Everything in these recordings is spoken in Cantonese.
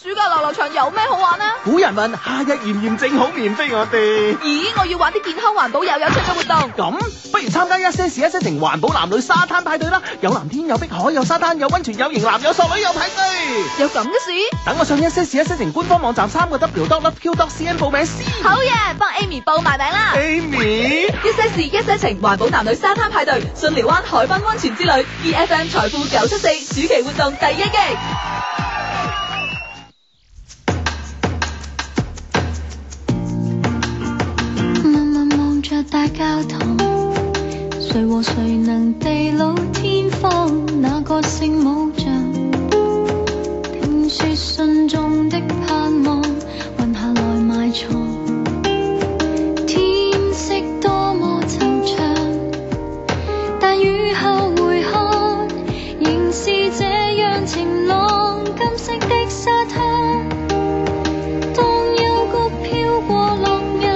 暑假遊樂場有咩好玩呢？ 古人問夏日炎炎正好面飛我哋。 咦，我要玩啲健康環保又有趣嘅活動。 咁不如參加一些事一些情環保男女沙灘派對啦！有藍天有碧海有沙灘有溫泉有型男有索女有派對。 有咁嘅事？ 等我上一些事一些情官方網站3w.loveq.cn 報名先。 好嘢，幫 Amy 報埋名啦。 Amy， 一些事一些情環保男女沙灘派對，信寮灣海濱溫泉之旅 ，EFM 財富974暑期活動第一擊。 大教堂，誰和誰能地老天荒？那個聖母像，聽說信眾的盼望，運下來埋藏。天色多麼惆悵，但雨後回看，仍是這樣晴朗。金色的沙灘，當幽谷飄過落日。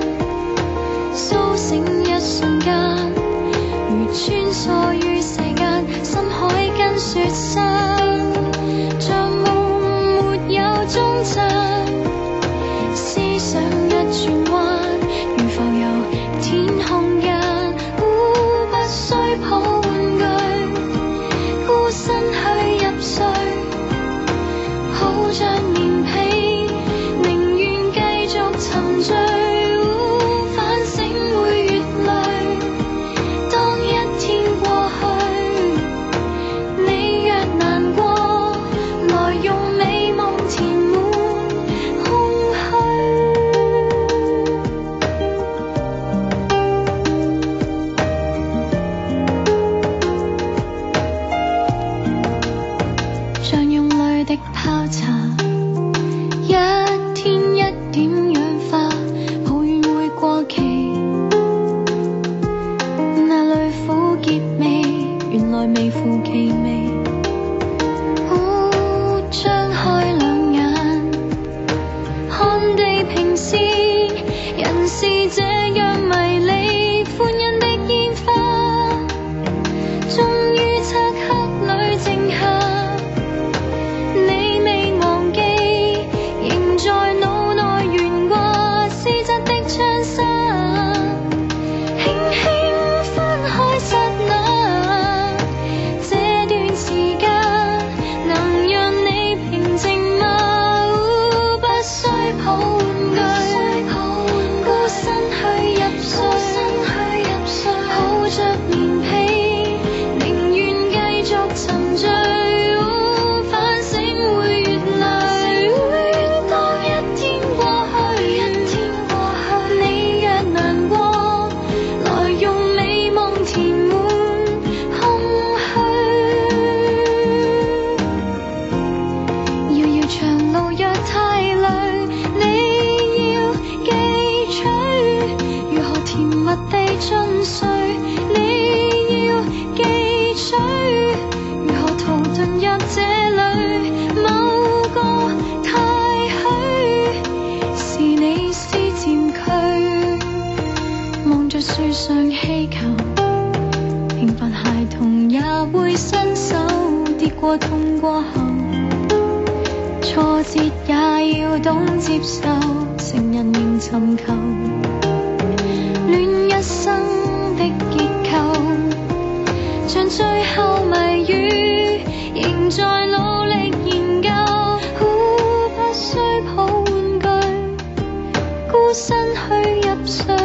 甦醒一瞬間，如穿梭於世間，深海跟雪山，像夢沒有終站。思想一轉彎，如浮遊天空間，不需抱玩具，孤身去入睡，抱着棉被，寧願繼續沉醉。微乎其微，張開兩眼，看地平線，人是這樣迷離，歡欣的煙花，終於漆黑裏靜下，你未忘記，仍在腦內懸掛絲質的窗紗，輕輕分開剎那。樹上氣球，平凡孩童也會伸手，跌過痛過後，挫折也要懂接受，成人仍尋求戀一生的結構，像最後謎語，仍在努力研究，不需抱玩具，孤身去入睡。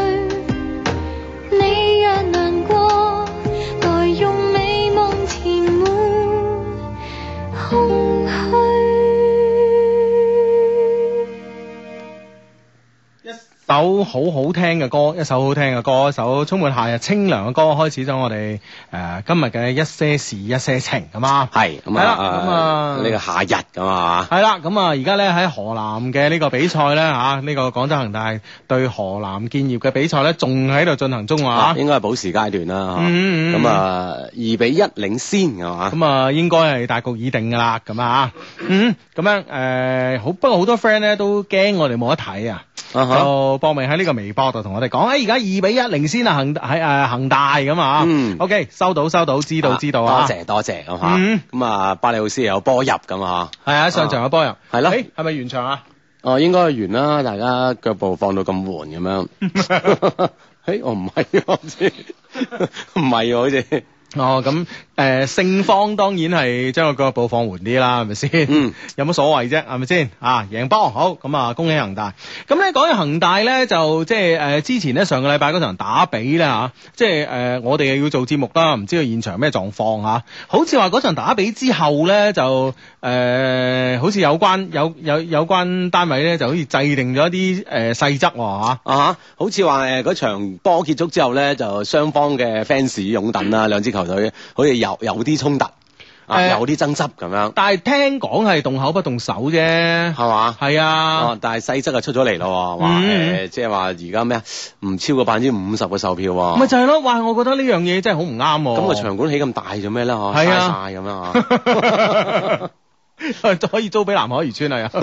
首好好聽嘅歌，一首好聽嘅歌，一首充滿夏日清涼嘅歌，開始咗我哋今日嘅一些事一些情，係嘛？ 係咁啊，咁啊呢個夏日咁啊， 係啦，咁啊而家咧喺河南嘅呢個比賽咧嚇，呢個廣州恒大對河南建業嘅比賽咧，仲喺度進行中啊， 應該係補時階段啦，咁啊2-1領先係嘛？ 咁啊應該係大局已定㗎啦，咁啊咁樣好，不過好多 friend 咧都驚我哋冇得睇啊。 就報名喺呢個微博度同我哋講，而家2-1領先啊，恒大咁啊。OK， 收到，知道啊。 多謝咁嚇。咁啊，巴里奧斯有波入咁啊。 係啊，上場有波入。係咯。係咪完場啊？ 哦，應該完啦，大家腳步放到咁緩咁樣。我唔係，我唔知，唔係好似。 哦，咁勝方當然係將個腳步放緩啲啦，係咪先？有乜所謂啫？係咪先？贏波好，咁啊恭喜恒大。咁咧講起恒大咧，就即係之前咧上個禮拜嗰場打比咧嚇，即係我哋又要做節目啦，唔知道現場咩狀況嚇。好似話嗰場打比之後咧，就好似有關單位咧，就好似制定咗一啲細則喎嚇。 好似話嗰場波結束之後咧，就雙方嘅 fans 擁躉啦，兩支球隊好似有啲衝突，有啲爭執咁樣。但係聽講係動口不動手啫，係嘛？係啊。但係細則就出咗嚟咯，話即係話而家咩啊？唔超過50%嘅售票喎。咪就係咯，哇！我覺得呢樣嘢真係好唔啱。咁個場館起咁大做咩咧？嗬，嘥晒咁樣啊！可以租俾南海漁村啊！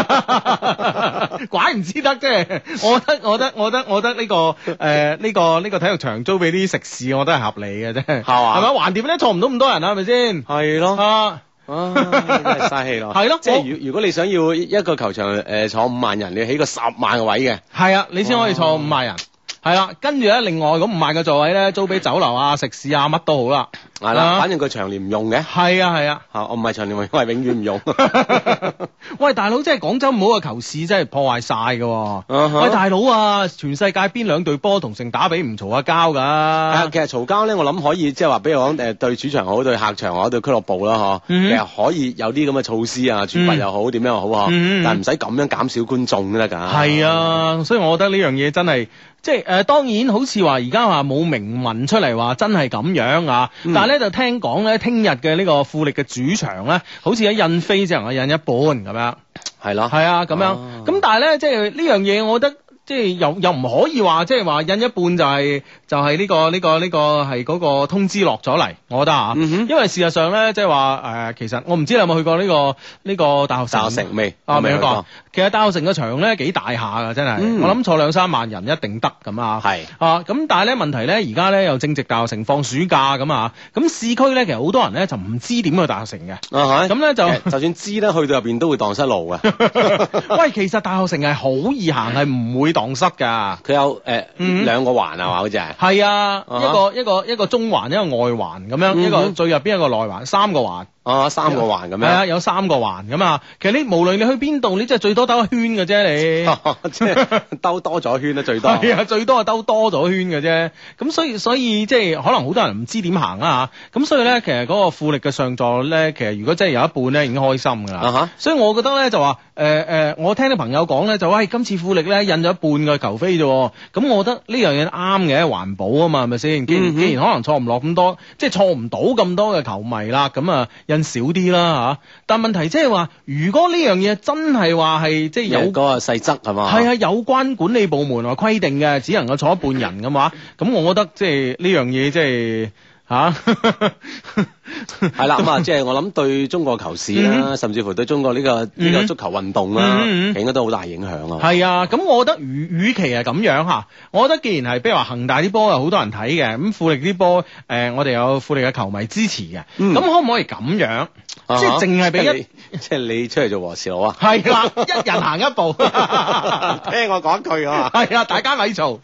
怪唔知得啫，我覺得呢個體育場租俾啲食肆，我覺得係合理嘅啫，係嘛？係咪？橫掂咧坐唔到咁多人啊，係咪先？係咯，真係嘥氣咯。係咯，即係如果你想要一個球場坐5萬人，你要起個10萬個位嘅，係啊，你先可以坐5萬人。係啦，跟住咧，另外嗰5萬個座位咧，租俾酒樓啊、食肆啊，乜都好啦。係啦，反正佢長年唔用嘅。係啊，我唔係長年用，我係永遠唔用。喂，大佬，真係廣州唔好嘅球市真係破壞晒㗎。喂，大佬啊，全世界邊2隊波同城打比唔嘈下交㗎？其實嘈交咧，我諗可以即係話，比如講對主場好，對客場好，對俱樂部啦，其實可以有啲咁嘅措施啊，處罰又好，點樣又好，但係唔使咁樣減少觀眾得㗎。係啊，所以我覺得呢樣嘢真係。即係當然好似話而家話冇明文出嚟話真係咁樣啊，但係咧就聽講咧，聽日嘅呢個富力嘅主場咧，好似喺印飛只能夠印一半咁樣，係咯，係啊咁樣，咁但係咧即係呢樣嘢，我覺得即係又唔可以話即係話印一半就係呢個係嗰個通知落咗嚟，我覺得啊，因為事實上咧即係話其實我唔知你有冇去過呢個大學城未？未去過。其實大學城嘅場咧幾大下噶，真係，我諗坐2-3萬人一定得咁啊。係咁但係咧問題咧，而家咧又正值大學城放暑假咁啊，咁市區咧其實好多人咧就唔知點去大學城嘅。咁咧就算知咧，去到入邊都會蕩失路嘅。喂，其實大學城係好易行，係唔會蕩失噶。佢有2個環係嘛，好似係。係啊，一個中環，一個外環咁樣，一個最入邊一個內環，3個環。3個環咁樣。係啊，有3個環咁啊。其實你無論你去邊度，你真係最多兜一圈嘅啫，你即係兜多咗圈啦，最多係啊，最多係兜多咗圈嘅啫。咁所以即係可能好多人唔知點行啦嚇。咁所以咧，其實嗰個富力嘅上座咧，其實如果真係有一半咧，已經開心噶啦。所以我覺得咧就話我聽啲朋友講咧，就喂今次富力咧印咗一半嘅球飛啫。咁我覺得呢樣嘢啱嘅，環保啊嘛，係咪先？既然可能坐唔落咁多，即係坐唔到咁多嘅球迷啦，咁啊印少啲啦嚇。但問題即係話，如果呢樣嘢真係話係即係有嗰個細則係嘛？係啊，有關管理部門話規定嘅，只能夠坐一半人嘅話，咁我覺得即係呢樣嘢即係嚇。係啦，咁啊，即係我諗對中國球市啦，甚至乎對中國呢個足球運動啦，應該都好大影響啊。係啊，咁我覺得與其係咁樣嚇，我覺得既然係，比如話恒大啲波有好多人睇嘅，咁富力啲波我哋有富力嘅球迷支持嘅，咁可唔可以咁樣？即係淨係俾即係你出嚟做和事佬啊？係啦，一人行一步，聽我講句啊！係啊，大家咪嘈。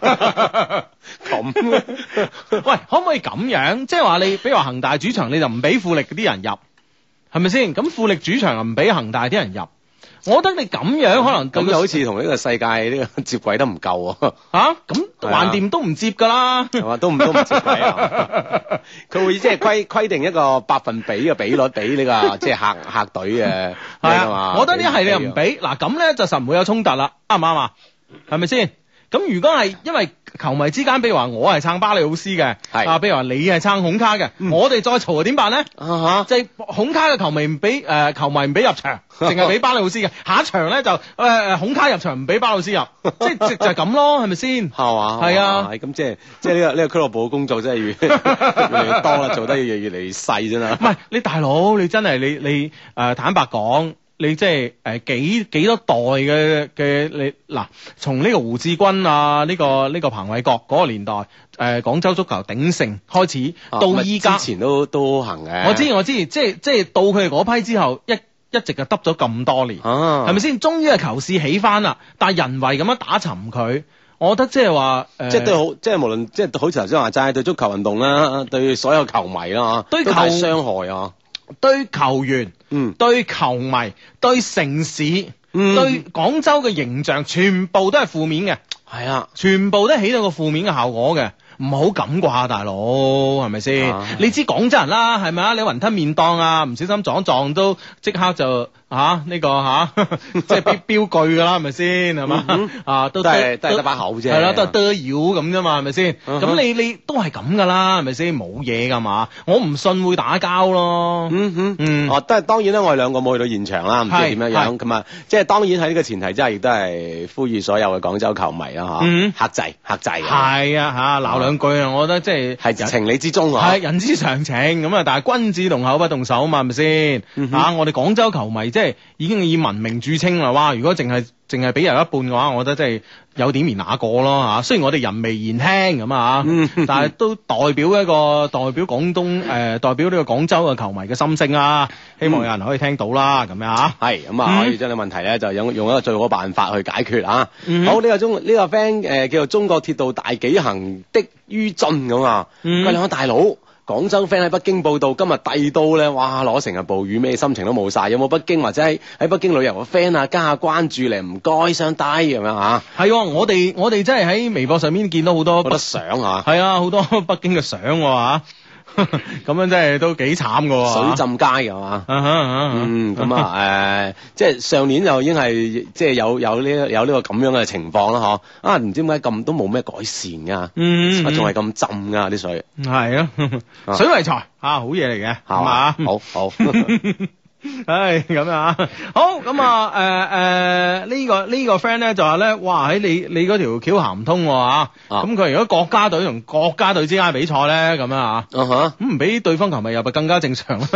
咁，喂，可唔可以咁樣？即係話你，比如話恒大主場你就唔俾富力嗰啲人入，係咪先？咁富力主場又唔俾恒大啲人入，我覺得你咁樣可能咁就好似同呢個世界呢個接軌得唔夠啊！咁橫掂都唔接噶啦，係嘛？都唔接軌啊！佢會即係規定一個百分比嘅比率俾呢個即係客隊嘅係嘛？我覺得呢係你又唔俾嗱，咁咧就實唔會有衝突啦，啱唔啱啊？係咪先？咁如果係因為球迷之間，比如話我係撐巴里奧斯嘅，係比如話你係撐孔卡嘅，我哋再嘈點辦咧？即係孔卡嘅球迷唔俾球迷唔俾入場，淨係俾巴里奧斯嘅。下一場咧就孔卡入場唔俾巴里奧斯入，即係就係咁咯，係咪先？係嘛？係啊，咁即係呢個俱樂部嘅工作真係越嚟越多啦，做得越嚟越細啫啦。唔係你大佬，你真係你坦白講。 你即係幾多代嘅你嗱，從呢個胡志軍啊，呢個彭偉國嗰個年代，廣州足球鼎盛開始，到依家之前都行嘅。 我知，即係到佢哋嗰批之後，一直就得咗咁多年，係咪先？終於係球市起翻啦，但係人為咁樣打沉佢。我覺得即係話， 即係對好，即係無論即係好似頭先話齋，對足球運動啦，對所有球迷啦， 對都大傷害啊！ 對球員，對球迷，對城市，對廣州嘅形象，全部都係負面嘅。係啊，全部都起到個負面嘅效果嘅。唔好咁啩，大佬係咪先？你知廣州人啦，係咪啊？你雲吞麵檔啊，唔小心撞都即刻就呢個即係標句噶啦，係咪先？係嘛？都係得把口啫，係啦，都係得妖咁啫嘛，係咪先？咁你都係咁噶啦，係咪先？冇嘢噶嘛，我唔信會打交咯。 都係當然啦，我哋兩個冇去到現場啦，唔知點樣樣咁啊。即係當然喺呢個前提之下，亦都係呼籲所有嘅廣州球迷啦，克制。 係啊，鬧兩句啊，我覺得即係情理之中啊， 係人之常情咁啊。但係君子動口不動手啊嘛，係咪先？我哋廣州球迷即係已經以文明著稱啦。哇！如果淨係俾人一半嘅話，我覺得真係有點兒那個咯嚇。雖然我哋人微言輕咁啊，但係都代表廣東代表呢個廣州嘅球迷嘅心聲啊。希望有人可以聽到啦，咁樣嚇。係咁啊，可以將啲問題咧就用一個最好嘅辦法去解決啊。好，呢個 friend 叫做中國鐵道大紀行的于俊咁啊。佢兩個大佬。廣州 friend 喺北京報道，今日遞到咧，哇！攞成日暴雨，咩心情都冇晒。有冇北京或者喺北京旅遊嘅 friend 啊，加下關注嚟，唔該雙低咁樣嚇。係，我哋真係喺微博上面見到好多相啊。係啊，好多北京嘅相喎。咁樣真係都幾慘噶，水浸街係嘛？咁啊，即係上年就已經係即係有呢個咁樣嘅情況啦，嗬？唔知點解咁都冇咩改善噶，仲係咁浸噶啲水。係啊，水為財好嘢嚟嘅，係嘛？好。唉，咁啊，好咁啊，呢個 friend 咧就話咧，哇，喺你嗰條橋行唔通咁佢如果國家隊同國家隊之間嘅比賽咧，咁樣啊，咁唔俾對方球迷入咪更加正常啦。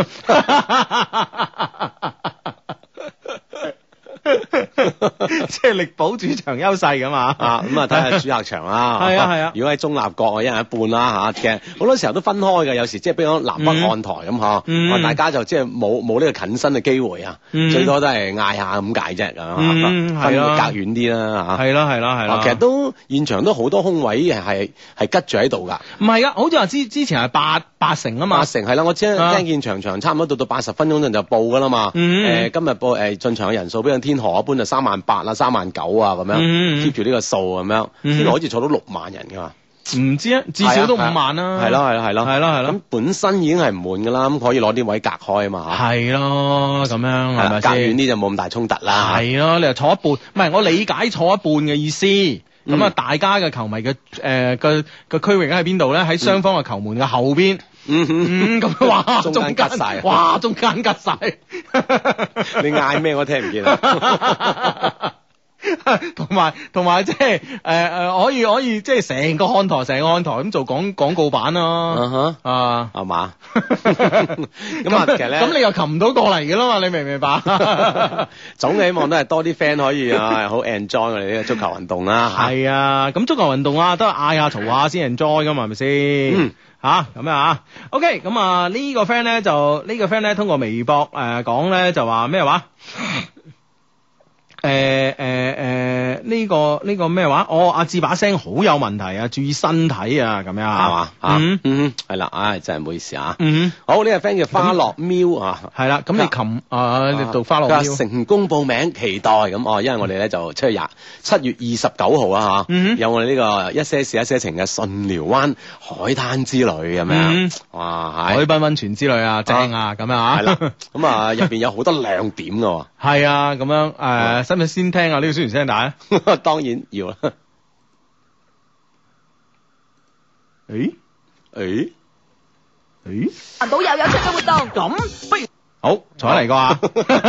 即係力保主場優勢㗎嘛，咁啊睇下主客場啦。係啊，如果喺中立國，一人一半啦嚇。其實好多時候都分開嘅，有時即係比如講南北看台咁嗬，大家就即係冇呢個近身嘅機會啊，最多都係嗌下咁解啫，分隔遠啲啦嚇。係啦，其實都現場都好多空位係吉住喺度㗎。唔係㗎，好似話之前係八成啊嘛。八成係啦，我聽見場差唔多到80分鐘就報㗎啦嘛。今日報進場嘅人數比如天河一般就38000啦、39000啊咁樣 keep 住呢個數咁樣，天河好似坐到6萬人㗎嘛。唔知啊，至少都5萬啦。係咯。咁本身已經係唔滿㗎啦，咁可以攞啲位隔開啊嘛。係咯，咁樣係咪先？隔遠啲就冇咁大衝突啦。係咯，你又坐一半，唔係我理解坐一半嘅意思。咁啊，大家嘅球迷嘅個區域喺邊度咧？喺雙方嘅球門嘅後邊。咁哇，中間吉晒，哇，中間吉晒。你嗌咩我聽唔見啊！同埋即係可以即係成個看台咁做廣告版咯。係嘛？咁啊，其實咧，咁你又擒唔到過嚟嘅啦嘛？你明唔明白？總希望都係多啲 friend 可以好 enjoy 我哋呢個足球運動啦。係啊，咁足球運動啊，都係嗌下嘈下先 enjoy 噶嘛，係咪先？咁啊 OK， 咁啊呢個 friend 咧通過微博講咧就話咩話？呢個咩話？阿志把聲好有問題啊，注意身體啊，咁樣係嘛？係啦，真係唔好意思啊。好，呢個 friend 叫花落喵啊，係啦。咁你你讀花落喵，成功報名，期待咁因為我哋咧就7月29號啊有我哋呢個一些事一些情嘅順寮灣海灘之旅咁樣。哇，海濱溫泉之旅啊，正啊，咁樣啊。係啦，咁入邊有好多亮點噶。係啊，咁樣使唔使先聽下呢個宣傳聲帶？當然要啦。環保又有出嘅活動，咁不如好，坐嚟個啊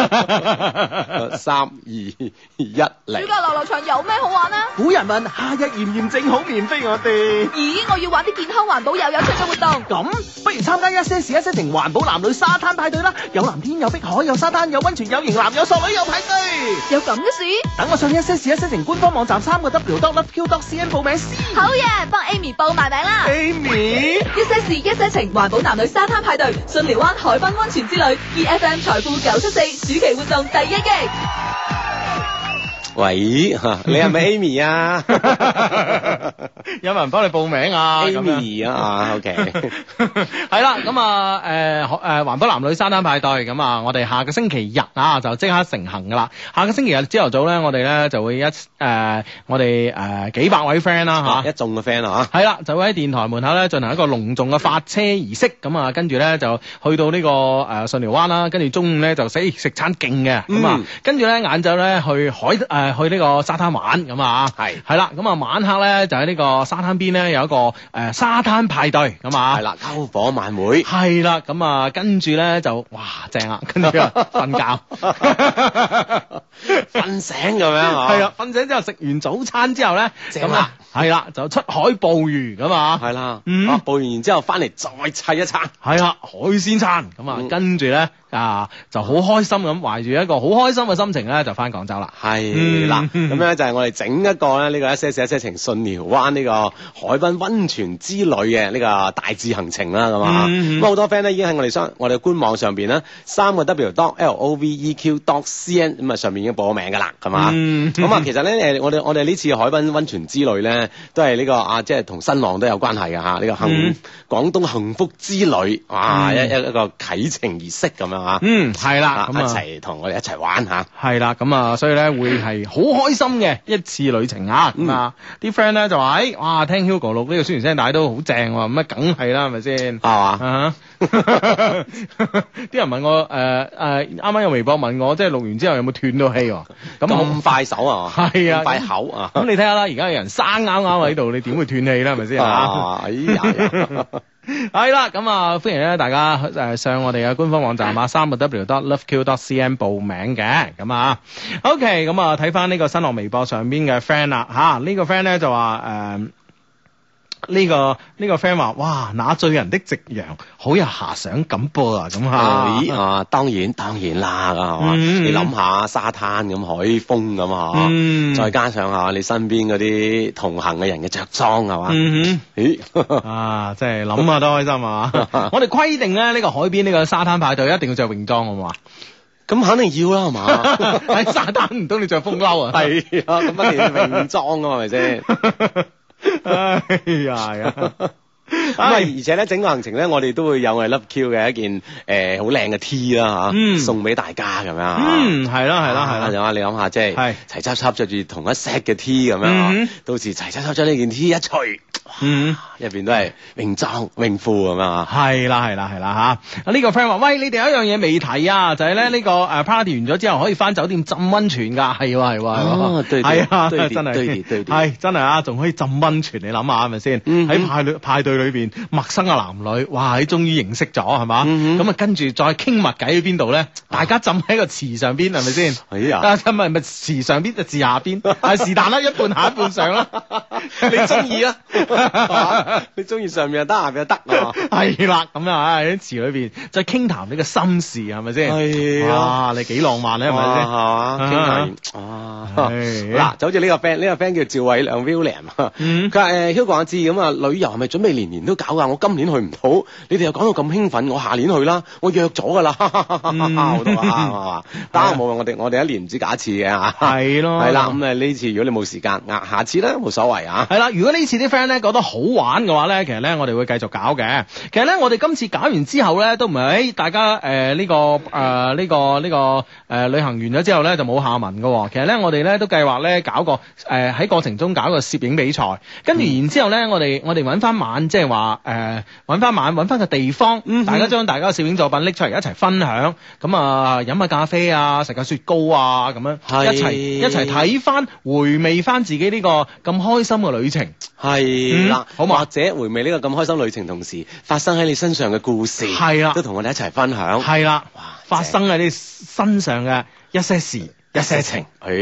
！3、2、1嚟。 暑假遊樂場有咩好玩啊？ 古人問夏日炎炎正好面飛我哋。 咦，我要玩啲健康環保又有趣嘅活動。 咁不如參加一些事一些情環保男女沙灘派對啦！有藍天有碧海有沙灘有溫泉有型男有索女有派對。 有咁嘅事？ 等我上一些事一些情官方網站3w.loveq.cn 報名先。 好嘢，幫 Amy 報埋名啦。 Amy， 一些事一些情環保男女沙灘派對，巽寮灣海濱溫泉之旅 ，EFM 財富974暑期活動第1季。 喂，你係咪 Amy 啊？ 有冇人幫你報名啊 ？Amy 啊 ，OK， 係啦，咁啊，環保男女沙灘派對，咁啊，我哋下個星期日啊就即刻成行噶啦。下個星期日朝頭早咧，我哋咧就會我哋幾百位 friend 啦嚇， 一眾嘅 friend 啊係啦，就會喺電台門口咧進行一個隆重嘅發車儀式，咁啊，跟住咧就去到呢個巽寮灣啦，跟住中午咧就食餐勁嘅，咁啊，跟住咧晏晝咧去呢個沙灘玩咁啊，係啦，咁啊晚黑咧就喺呢個沙灘邊咧有一個沙灘派對咁啊， 係啦，篝火晚會係啦，咁啊跟住咧就哇正啊，跟住瞓覺瞓醒咁樣啊， 係啊，瞓醒之後食完早餐之後咧，咁啊係啦，就出海捕魚咁啊， 係啦，捕完然之後翻嚟再砌一餐， 係啦，海鮮餐咁啊，跟住咧就好開心咁，懷住一個好開心嘅心情咧就翻廣州啦， 係啦，咁樣就係我哋整一個咧呢個一些事一些情巽寮灣呢個海濱溫泉之旅嘅呢個大致行程啦，咁啊，咁好多 friend 咧已經喺我哋嘅官網上邊咧3w.loveq.cn 咁啊上面已經報咗名噶啦，咁啊，咁啊其實咧我哋呢次海濱溫泉之旅咧都係呢個即係同新浪都有關係嘅嚇，呢個廣東幸福之旅啊一個啟程儀式咁樣嚇， 係啦，咁一齊同我哋一齊玩嚇， 係啦，咁啊所以咧會係好開心嘅一次旅程啊，咁啊啲 friend 咧就話哇聽 Hugo 錄呢個宣傳聲帶都好正喎，咁啊梗係啦，係咪先？係嘛？啲人問我啱啱有微博問我，即係錄完之後有冇斷到氣喎？ 咁快手啊？ 係啊， 快口啊！ 咁你睇下啦，而家有人生啱啱喺度，你點會斷氣咧？係咪先？ 哎呀！ 係啦，咁啊歡迎咧大家上我哋嘅官方網站3w.loveq.cn 報名嘅，咁啊 OK， 咁啊睇翻呢個新浪微博上邊嘅 friend 啦嚇，呢個 friend 咧就話呢個 friend 話哇那醉人的夕陽好有遐想感噃啊，咁嚇當然啦，係嘛？你諗下沙灘咁海風咁啊，再加上下你身邊嗰啲同行嘅人嘅着裝係嘛？ 真係諗下都開心啊！我哋規定咧呢個海邊呢個沙灘派對一定要着泳裝好嘛？ 咁肯定要啦，係嘛？ 喺沙灘唔通你着風褸啊？ 係啊，咁一定要泳裝啊嘛，係咪先？ 哎呀！ 咁而且咧整個行程咧，我哋都會有我哋 Love Q 嘅一件好靚嘅 T 啦嚇，送俾大家咁樣係啦， 就話你諗下，即係齊輯輯着住同一 set 嘅 T 咁樣，到時齊輯輯將呢件 T 一除，入邊都係泳裝泳褲咁樣啊！ 係啦嚇！呢個 friend 話：喂，你哋有一樣嘢未提啊，就係咧呢個party 完咗之後可以翻酒店浸溫泉㗎，係喎， 對啊， 真係係真係啊，仲可以浸溫泉，你諗下係咪先？喺派對裏邊陌生嘅男女，哇！你終於認識咗係嘛？咁啊跟住再傾密偈喺邊度咧？大家浸喺個池上邊係咪先？ 係啊， 咪池上邊就池下邊，是但啦，一半下一半上啦， 你中意啦，你中意上面又得，下邊又得， 係啦，咁啊喺池裏邊再傾談呢個心事係咪先？係啊，你幾浪漫咧係咪先？係嘛，傾談嗱，就好似呢個 friend 叫趙偉亮 William，佢話Hugo 阿志咁啊，旅遊係咪準備年年都搞噶？我今年去唔到，你哋又講到咁興奮，我下年去啦，我約咗噶啦，好多啊，得冇我哋一年唔知搞一次嘅嚇，係咯，係啦，咁呢次如果你冇時間，下次咧冇所謂啊， 係啦，如果呢次啲 friend 咧覺得好玩嘅話咧，其實咧我哋會繼續搞嘅。其實咧我哋今次搞完之後咧，都唔係大家旅行完咗之後咧就冇下文嘅。其實咧我哋咧都計劃咧搞個喺過程中搞個攝影比賽，跟住然之後咧我哋揾翻晚，即係話揾翻個地方，大家將大家嘅攝影作品拎出嚟一齊分享，咁啊飲下咖啡啊，食下雪糕啊，咁樣一齊睇翻回味翻自己呢個咁開心嘅旅程， 係啦，好或者回味呢個咁開心旅程同時發生喺你身上嘅故事，係啦，都同我哋一齊分享， 係啦， 哇！ 發生喺你身上嘅一些事一些情。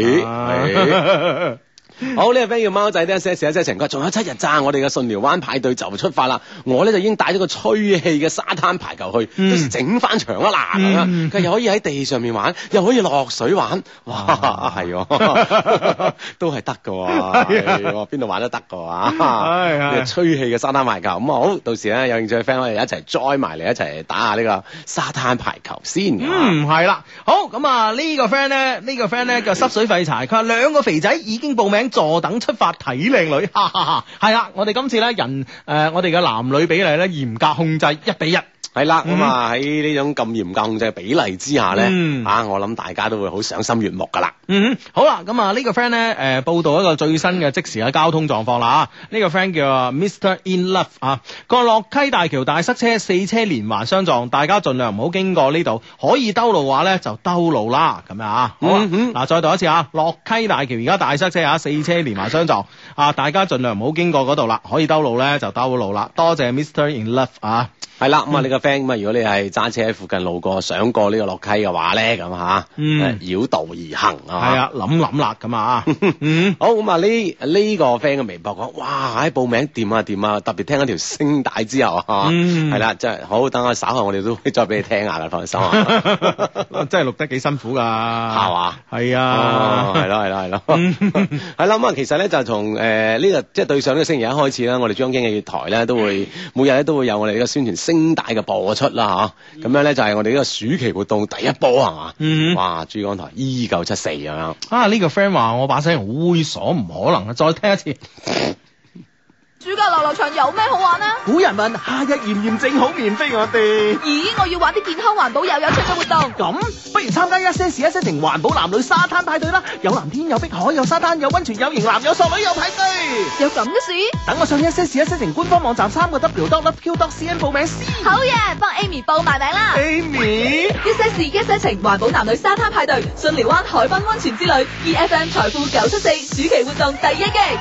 好，呢個 friend 叫貓仔，呢一些事一些情，佢仲有7日咋，我哋嘅順寮灣派對就出發啦。我咧就已經帶咗個吹氣嘅沙灘排球去，到時整翻場啦嗱，咁樣佢又可以喺地上面玩，又可以落水玩，哇，係都係得噶，係邊度玩都得噶，係吹氣嘅沙灘排球咁好，到時咧有興趣嘅 friend 可以一齊 join 埋嚟一齊打下呢個沙灘排球先。 係啦，好咁啊呢個 friend 咧叫濕水廢柴，佢話2個肥仔已經報名坐等出發睇靚女，哈哈哈！係啦，我哋今次咧我哋嘅男女比例咧嚴格控制1:1。 係啦，咁啊喺呢種咁嚴格控制嘅比例之下咧，我諗大家都會好賞心悅目噶啦。 好啦，咁啊呢個 friend 咧報道一個最新嘅即時嘅交通狀況啦。呢個 friend 叫 Mr. In Love 啊，個落溪大橋大塞車，4車連環相撞，大家盡量唔好經過呢度，可以兜路嘅話咧就兜路啦，咁樣啊。好嗱，再讀一次啊，落溪大橋而家大塞車啊，4車連環相撞啊，大家盡量唔好經過嗰度啦，可以兜路咧就兜路啦。多謝 Mr. In Love 啊。 係啦，咁啊呢個 friend 咁啊，如果你係揸車喺附近路過，想過呢個落溪嘅話咧，咁繞道而行啊， 係啊，諗啦咁啊， 好咁啊呢個 friend 嘅微博講，哇喺報名掂啊，特別聽一條聲帶之後係啦，真係好，等我稍後我哋都會再俾你聽下啦，放心真係錄得幾辛苦噶， 係嘛？ 係啊， 係咯，係啦，咁啊其實咧就從呢個即係對上呢個星期一開始啦，我哋珠江經濟台咧都會每日咧都會有我哋呢個宣傳聲帶嘅播出啦，咁樣咧就係我哋呢個暑期活動第一波係嘛？哇！珠江台 E974咁樣啊！呢個 friend 話我把聲好猥瑣，唔可能啊！再聽一次。 暑假遊樂場有咩好玩啊？ 古人問夏日炎炎正好面飛我哋。 咦，我要玩啲健康環保又有趣嘅活動。 咁不如參加一些事一些情環保男女沙灘派對啦！有藍天有碧海有沙灘有溫泉有型男有索女有派對。 有咁嘅事？ 等我上一些事一些情官方網站3w.loveq.cn 報名先。 好嘢，幫 Amy 報埋名啦。 Amy， 一些事一些情環保男女沙灘派對，順寮灣海濱溫泉之旅 ，EFM 財富974暑期活動第1擊。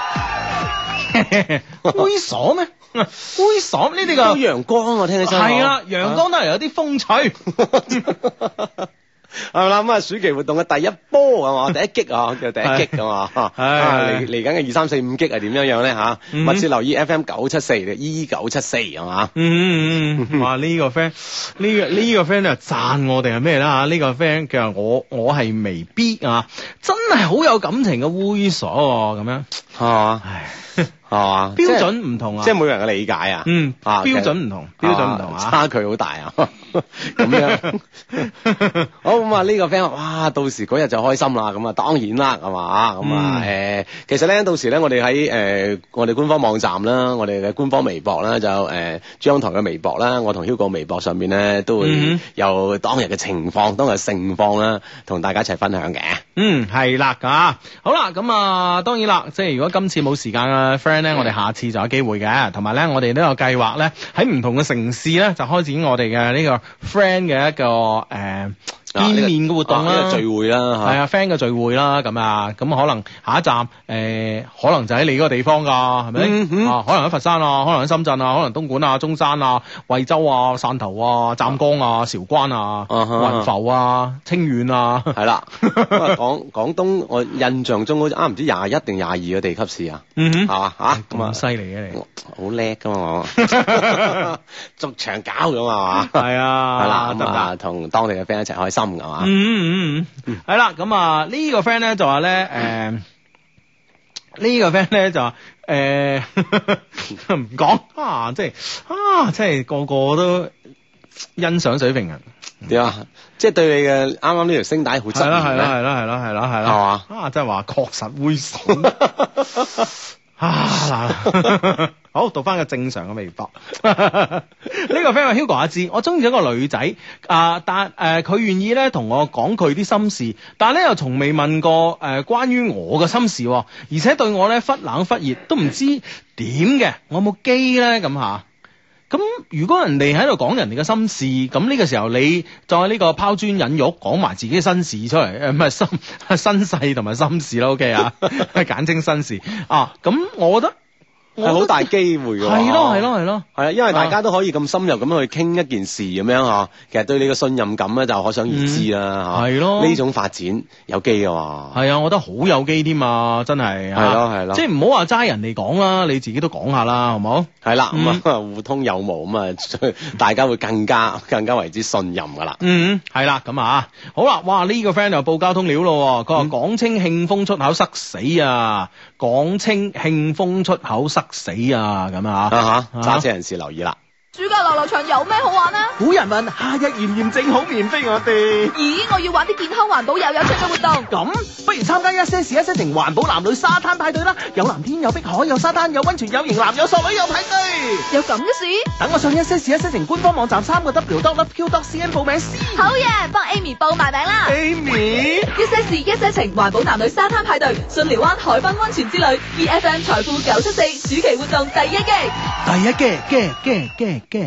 猥瑣咩？猥瑣呢啲個陽光我聽起身係啦，陽光都係有啲風趣。 係啦，咁啊暑期活動嘅第一波係嘛，第一擊啊，叫第一擊㗎嘛，嚟緊嘅2、3、4、5擊係點樣咧嚇？密切留意 FM 974 E974係嘛？ 哇！呢個 friend 呢個 friend 就讚我哋係咩啦？呢個 friend 佢話我係微 B 啊，真係好有感情嘅猥瑣喎，咁樣係嘛？係嘛？標準唔同啊， 即係每個人嘅理解啊。 標準唔同，標準唔同啊， 差距好大啊。咁樣好咁啊！呢個 friend 哇，到時嗰日就開心啦。咁啊，當然啦，係嘛？咁啊，其實咧，到時咧，我哋喺我哋官方網站啦，我哋嘅官方微博啦，就珠江台嘅微博啦，我同 Hugo 微博上面咧都會有當日嘅情況、當日盛況啦，同大家一齊分享嘅。 係啦，㗎。好啦，咁啊，當然啦，即係如果今次冇時間嘅 friend 咧，我哋下次就有機會嘅。同埋咧，我哋都有計劃咧，喺唔同嘅城市咧，就開展我哋嘅呢個 friend 嘅一個見面嘅活動啦， 聚會啦， 係啊 friend 嘅聚會啦，咁啊，咁可能下一站可能就喺你嗰個地方㗎，係咪？可能喺佛山啊，可能喺深圳啊，可能東莞啊、中山啊、惠州啊、汕頭啊、湛江啊、韶關啊、雲浮啊、清遠啊， 係啦。廣東我印象中好似唔知21定22個地級市啊，係嘛嚇？ 咁犀利嘅你， 好叻㗎嘛我，逐場搞咁啊嘛，係啊，係啦，咁啊同當地嘅 friend 一齊開心。係嘛？ 係啦，咁啊呢個 friend 咧就話咧，呢個 friend 咧就話唔講啊，即係個個都欣賞水平人點啊？即係對你嘅啱啱呢條聲帶好質疑咧， 係啦，係嘛？啊，即係話確實猥瑣啊！好，讀翻個正常嘅微博。呢個 friend 話 Hugo 阿志，我中意咗個女仔但佢願意咧同我講佢啲心事，但係咧又從未問過關於我嘅心事，而且對我咧忽冷忽熱，都唔知點嘅，我有冇機咧咁吓？咁如果人哋喺度講人哋嘅心事，咁呢個時候你再呢個拋磚引玉，講埋自己嘅心事出嚟，唔係身世同埋心事啦 ，OK 啊，簡稱心事啊。咁我覺得係好大機會嘅。 係咯， 係啊，因為大家都可以咁深入咁去傾一件事咁樣嗬，其實對你嘅信任感咧就可想而知啦嚇。係咯，呢種發展有機嘅喎。係啊，我覺得好有機添啊，真係。 係咯， 即係唔好話齋人哋講啦，你自己都講下啦，好唔好？ 係啦，咁啊互通有無咁啊，大家會更加為之信任㗎啦。 係啦，咁啊，好啦，哇呢個 friend 又報交通料咯，佢話廣清慶豐出口塞死啊，廣清慶豐出口塞死啊，咁啊揸車人士留意啦。 暑假遊樂場有咩好玩啊？ 古人問夏日炎炎正好面飛我哋。 咦，我要玩啲健康環保又有趣嘅活動。 咁不如參加一些事一些情環保男女沙灘派對啦！有藍天有碧海有沙灘有溫泉有型男有索女有派對。 有咁嘅事？ 等我上一些事一些情官方網站3w.loveq.cn 報名先。 好嘢，幫 Amy 報埋名啦。 Amy， 一些事一些情環保男女沙灘派對，巽寮灣海濱溫泉之旅 ，EFM 財富974暑期活動第一季。 第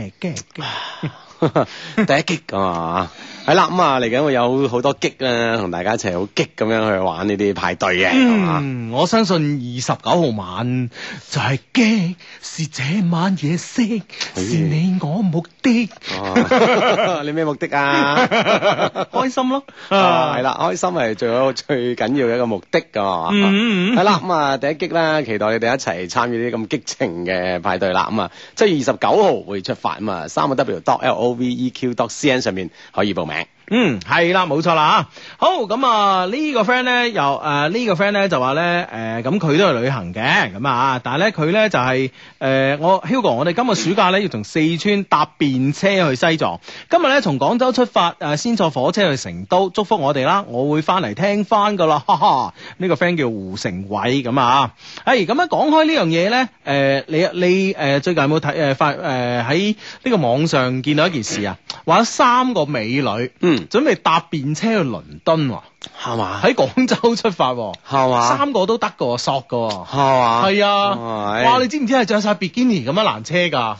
一擊㗎嘛，係啦，咁啊嚟緊會有好多擊啦，同大家一齊好激咁樣去玩呢啲派對嘅。 我相信29號晚就係激，是這晚夜色，是你我目的。 你咩目的啊？ 開心咯， 係啦，開心係最緊要嘅一個目的㗎嘛。係啦，咁啊第一擊啦，期待你哋一齊參與呢啲咁激情嘅派對啦。咁啊7月29號會出發，咁啊3w.loveq.cn 上面可以報名。 係啦，冇錯啦吓。好，咁啊呢個 friend 咧又呢個 friend 咧就話咧咁佢都係旅行嘅，咁啊但係咧佢咧就係我 Hugo， 我哋今個暑假咧要從四川搭便車去西藏，今日咧從廣州出發先坐火車去成都，祝福我哋啦，我會翻嚟聽翻噶啦，哈哈。呢個 friend 叫胡成偉，咁啊咁樣講開呢樣嘢咧，你最近有冇睇喺呢個網上見到一件事啊？話有3個美女準備搭便車去倫敦喎， 係嘛？ 喺廣州出發喎，係嘛？3個都得㗎，索㗎，係嘛？係啊，哇！你知唔知係着晒比基尼咁樣攔車㗎？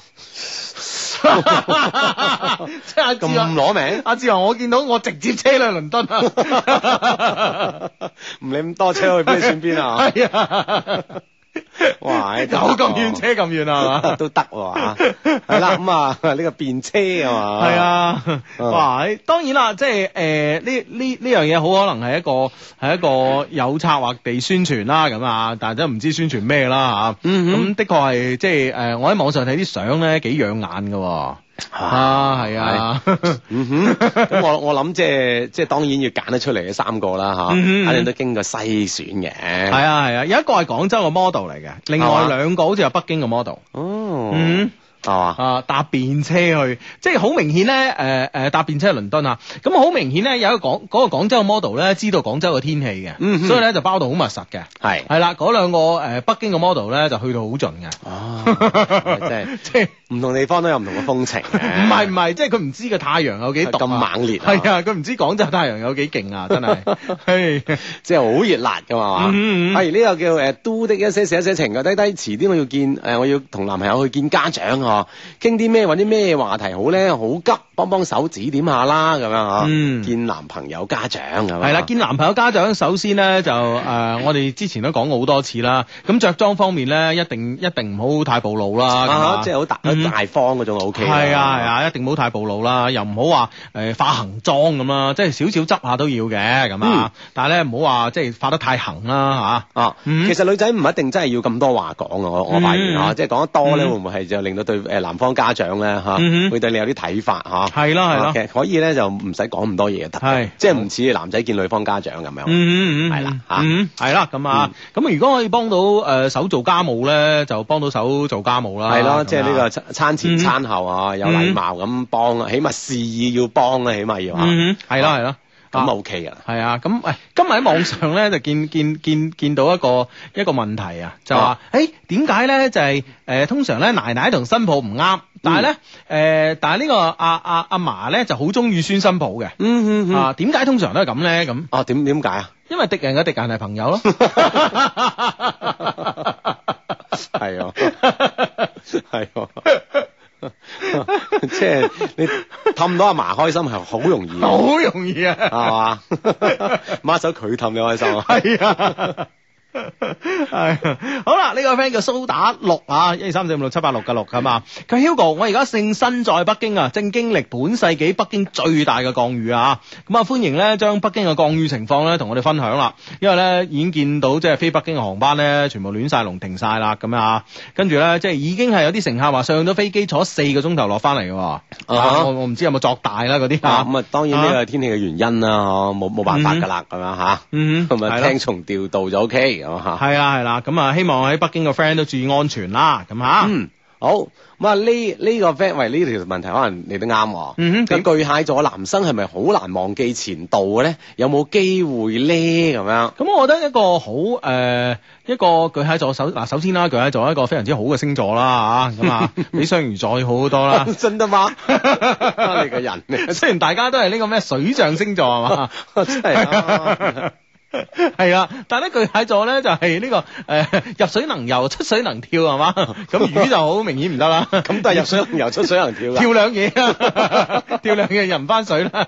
即係阿志咁攞命，阿志話我見到我直接車去倫敦啊， 唔理咁多車去邊算邊啊？係啊。哇！ 有咁遠車咁遠啊嘛， 都得喎，係啦，咁啊呢個便車啊嘛， 係啊，哇！當然啦，即係呢樣嘢好可能係一個有策劃地宣傳啦，咁啊，但係都唔知宣傳咩啦嚇。咁的確係即係我喺網上睇啲相咧幾養眼㗎。係啊， 咁我諗即係當然要揀得出嚟嘅3個啦吓，肯定都經過篩選嘅。 係啊，有一個係廣州嘅 model 嚟嘅，另外2個好似係北京嘅 model。搭便車去，即係好明顯咧，搭便車去倫敦啊！咁好明顯咧，有一個嗰個廣州嘅 model 咧，知道廣州嘅天氣嘅，所以咧就包到好密實嘅。係啦，嗰2個北京嘅 model 咧就去到好盡嘅。即係唔同地方都有唔同嘅風情。 唔係，即係佢唔知個太陽有幾毒咁猛烈。 係啊，佢唔知廣州太陽有幾勁啊！真係， 即係好熱辣㗎嘛。係呢個叫都的一些事一些情嘅低，遲啲我要同男朋友去見家長啊。傾啲咩，揾啲咩話題好咧？好急，幫手指點下啦，咁樣嗬。見男朋友家長咁樣。係啦，見男朋友家長，首先咧就我哋之前都講過好多次啦。咁着裝方面咧，一定唔好太暴露啦。即係好大方嗰種 O K。係啊，一定唔好太暴露啦，又唔好話化行妝咁啦，即係少少執下都要嘅咁啊。但係咧唔好話即係化得太行啦嚇。其實女仔唔一定真係要咁多話講啊，我發現啊，即係講得多咧，會唔會係就令到對男方家長咧會對你有啲睇法嚇？係咯，其實可以咧就唔使講咁多嘢得，即係唔似男仔見女方家長咁樣。係啦係啦咁啊，咁如果可以幫到手做家務咧，就幫到手做家務啦。係咯，即係呢個餐前餐後啊，有禮貌咁幫啊，起碼示意要幫啦，起碼要嚇。係咯。咁 OK 噶，係啊，咁今日喺網上咧就見到一個問題啊，就話點解咧就係通常咧奶奶同新抱唔啱，但係呢個阿嫲咧就好中意孫新抱嘅，點解通常都係咁咧？咁點解啊？因為敵人嘅敵人係朋友咯，係啊，係啊。即係你氹到阿嫲開心係好容易，好容易啊，係嘛？孖手佢氹你開心啊，係啊。 係好啦，呢個 friend 叫蘇打綠啊，123456786嘅6咁啊。佢 Hugo， 我而家正身在北京啊，正經歷本世紀北京最大嘅降雨啊。咁啊，歡迎咧將北京嘅降雨情況咧同我哋分享啦。因為咧已經見到即係飛北京嘅航班咧全部亂晒龍停晒啦咁啊。跟住咧即係已經係有啲乘客話上咗飛機坐4個鐘頭落翻嚟嘅。我唔知有冇作大啦嗰啲啊。 咁啊，當然呢個天氣嘅原因啦，冇辦法噶啦咁樣吓。咁啊，聽從調度就 OK 咁吓。 係啦，咁啊，希望喺北京嘅 friend 都注意安全啦，咁吓。 好，咁啊呢個 friend 喂呢條問題可能你都啱。咁巨蟹座男生係咪好難忘記前度嘅咧？有冇機會咧？咁樣。咁我覺得一個好一個巨蟹座首先啦，巨蟹座係一個非常之好嘅星座啦吓，咁啊比雙魚座好好多啦。 真得嗎？你個人嚟， 雖然大家都係呢個咩水象星座係嘛， 真係。 係啊，但係咧巨蟹座咧就係呢個入水能游，出水能跳係嘛，咁魚就好明顯唔得啦。咁但係入水能游，出水能跳， 跳兩嘢啊，跳兩嘢入唔翻水啦。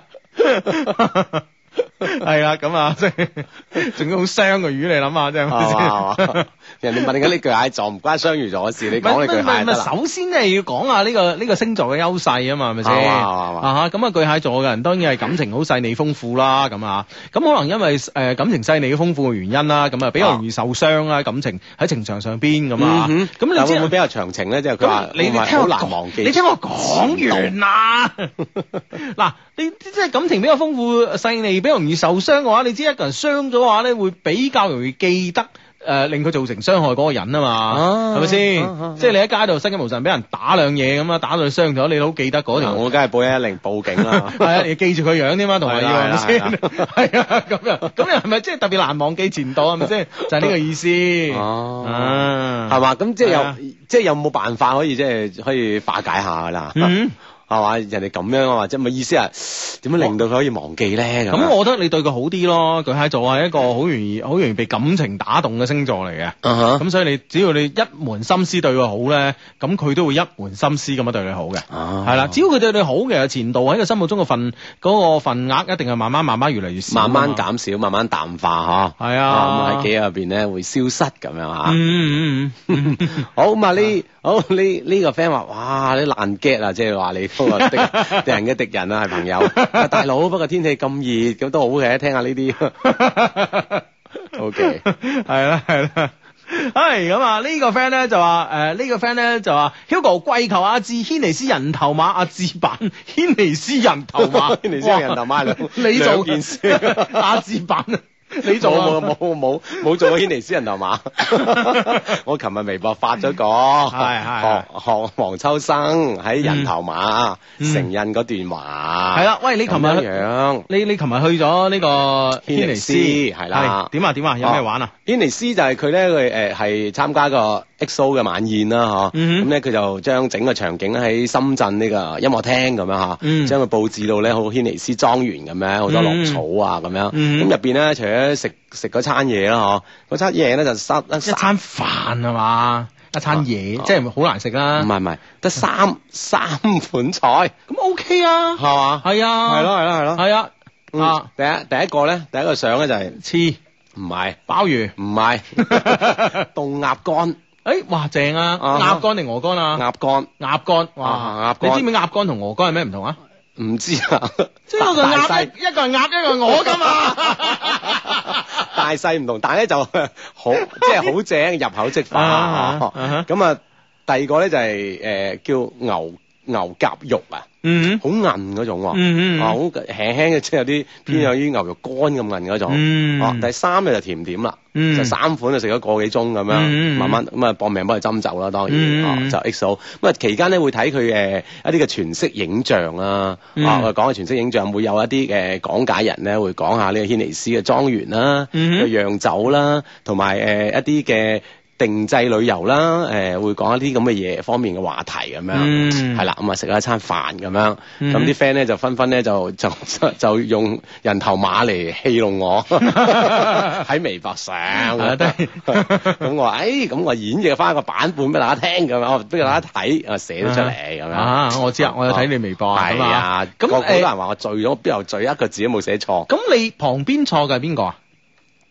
係啦，咁啊，即係仲要好傷嘅魚，你諗下，即係人哋問緊呢巨蟹座唔關雙魚座嘅事，你講你巨蟹得啦。 首先咧要講下呢個星座嘅優勢啊嘛，係咪先？咁啊巨蟹座嘅人當然係感情好細膩豐富啦，咁啊，咁可能因為感情細膩豐富嘅原因啦，咁啊比較容易受傷啦，感情喺情場上邊咁啊。咁你會唔會比較長情咧？即係佢話你聽我難忘記，你聽我講完啦。嗱，你即係感情比較豐富細膩，比較容易受傷嘅話，你知一個人傷咗嘅話咧，會比較容易記得令佢造成傷害嗰個人啊嘛，係咪先？即係你喺街度失驚無神俾人打兩嘢咁啊，打到你傷咗，你都記得嗰條。我梗係報110報警啦。係啊，你記住佢樣添嘛，同埋要係咪先？係啊，咁又係咪即係特別難忘記前度係咪先？就係呢個意思。係嘛？咁即係有冇辦法可以可以化解下噶啦？係嘛？人哋咁樣啊，即係咪意思係點樣令到佢可以忘記咧？咁我覺得你對佢好啲咯。巨蟹座係一個好容易被感情打動嘅星座嚟嘅。咁所以你只要你一門心思對佢好咧，咁佢都會一門心思咁樣對你好嘅。係啦，只要佢對你好嘅，前度喺佢心目中嘅份額一定係慢慢越嚟越少，慢慢減少，慢慢淡化嗬。係啊，咁喺記憶入邊咧會消失咁樣吓。好咁啊呢個 friend 話哇你爛 get 啊，即係話你。敵人嘅敵人啊，係朋友。大佬，不過天氣咁熱，咁都好嘅，聽下呢啲。OK， 係啦。係咁啊！呢個 friend 咧就話Hugo 跪求阿志軒尼詩人頭馬，阿志版軒尼詩人頭馬，軒尼詩人頭馬你做件事，阿志版。你做冇做過軒尼詩人頭馬？我琴日微博發咗個，學黃秋生喺人頭馬承印嗰段話。係啦，喂，你琴日你琴日去咗呢個軒尼詩係啦？點啊？有咩玩啊？軒尼詩就係佢咧，佢係參加個 XO 嘅晚宴啦，咁咧佢就將整個場景喺深圳呢個音樂廳咁樣將佢佈置到咧好軒尼詩莊園咁樣，好多綠草啊咁樣。咁入邊咧除咗食嗰餐嘢啦，嗰餐嘢咧就一餐飯係嘛，一餐嘢即係好難食啦。唔係，得三款菜，咁 OK 啊，係嘛？係啊，係咯，係啊。第一個相咧就係翅，唔係鮑魚，唔係凍鴨肝。哇正啊！鴨肝定鵝肝啊？鴨肝，哇！你知唔知鴨肝同鵝肝係咩唔同啊？唔知啊，即係一個係鴨，一個係鵝噶嘛。大細唔同，但係咧就好，即係好正，入口即化。咁啊，第二個咧就係叫牛夾肉啊。好韌嗰種，好輕輕嘅，即係有啲偏向於牛肉乾咁韌嗰種。第三咧就甜點啦，就3款就食咗個幾鐘咁樣，慢慢咁啊搏命幫佢斟酒啦，當然就 XO。咁啊期間咧會睇佢一啲嘅全息影像啦，我講嘅全息影像會有一啲嘅講解人咧會講下呢個軒尼詩嘅莊園啦、個釀酒啦，同埋一啲嘅定製旅遊啦，會講一啲咁嘅嘢方面嘅話題咁樣，係啦，咁啊食咗一餐飯咁樣，咁啲 friend 咧就紛紛咧就用人頭馬嚟戲弄我喺微博上，咁我話咁我演繹翻個版本俾大家聽咁樣，我俾大家睇，寫咗出嚟咁樣。我知啊，我有睇你微博啊。係啊，咁好多人話我醉咗，邊有醉一個字都冇寫錯。咁你旁邊坐嘅係邊個啊？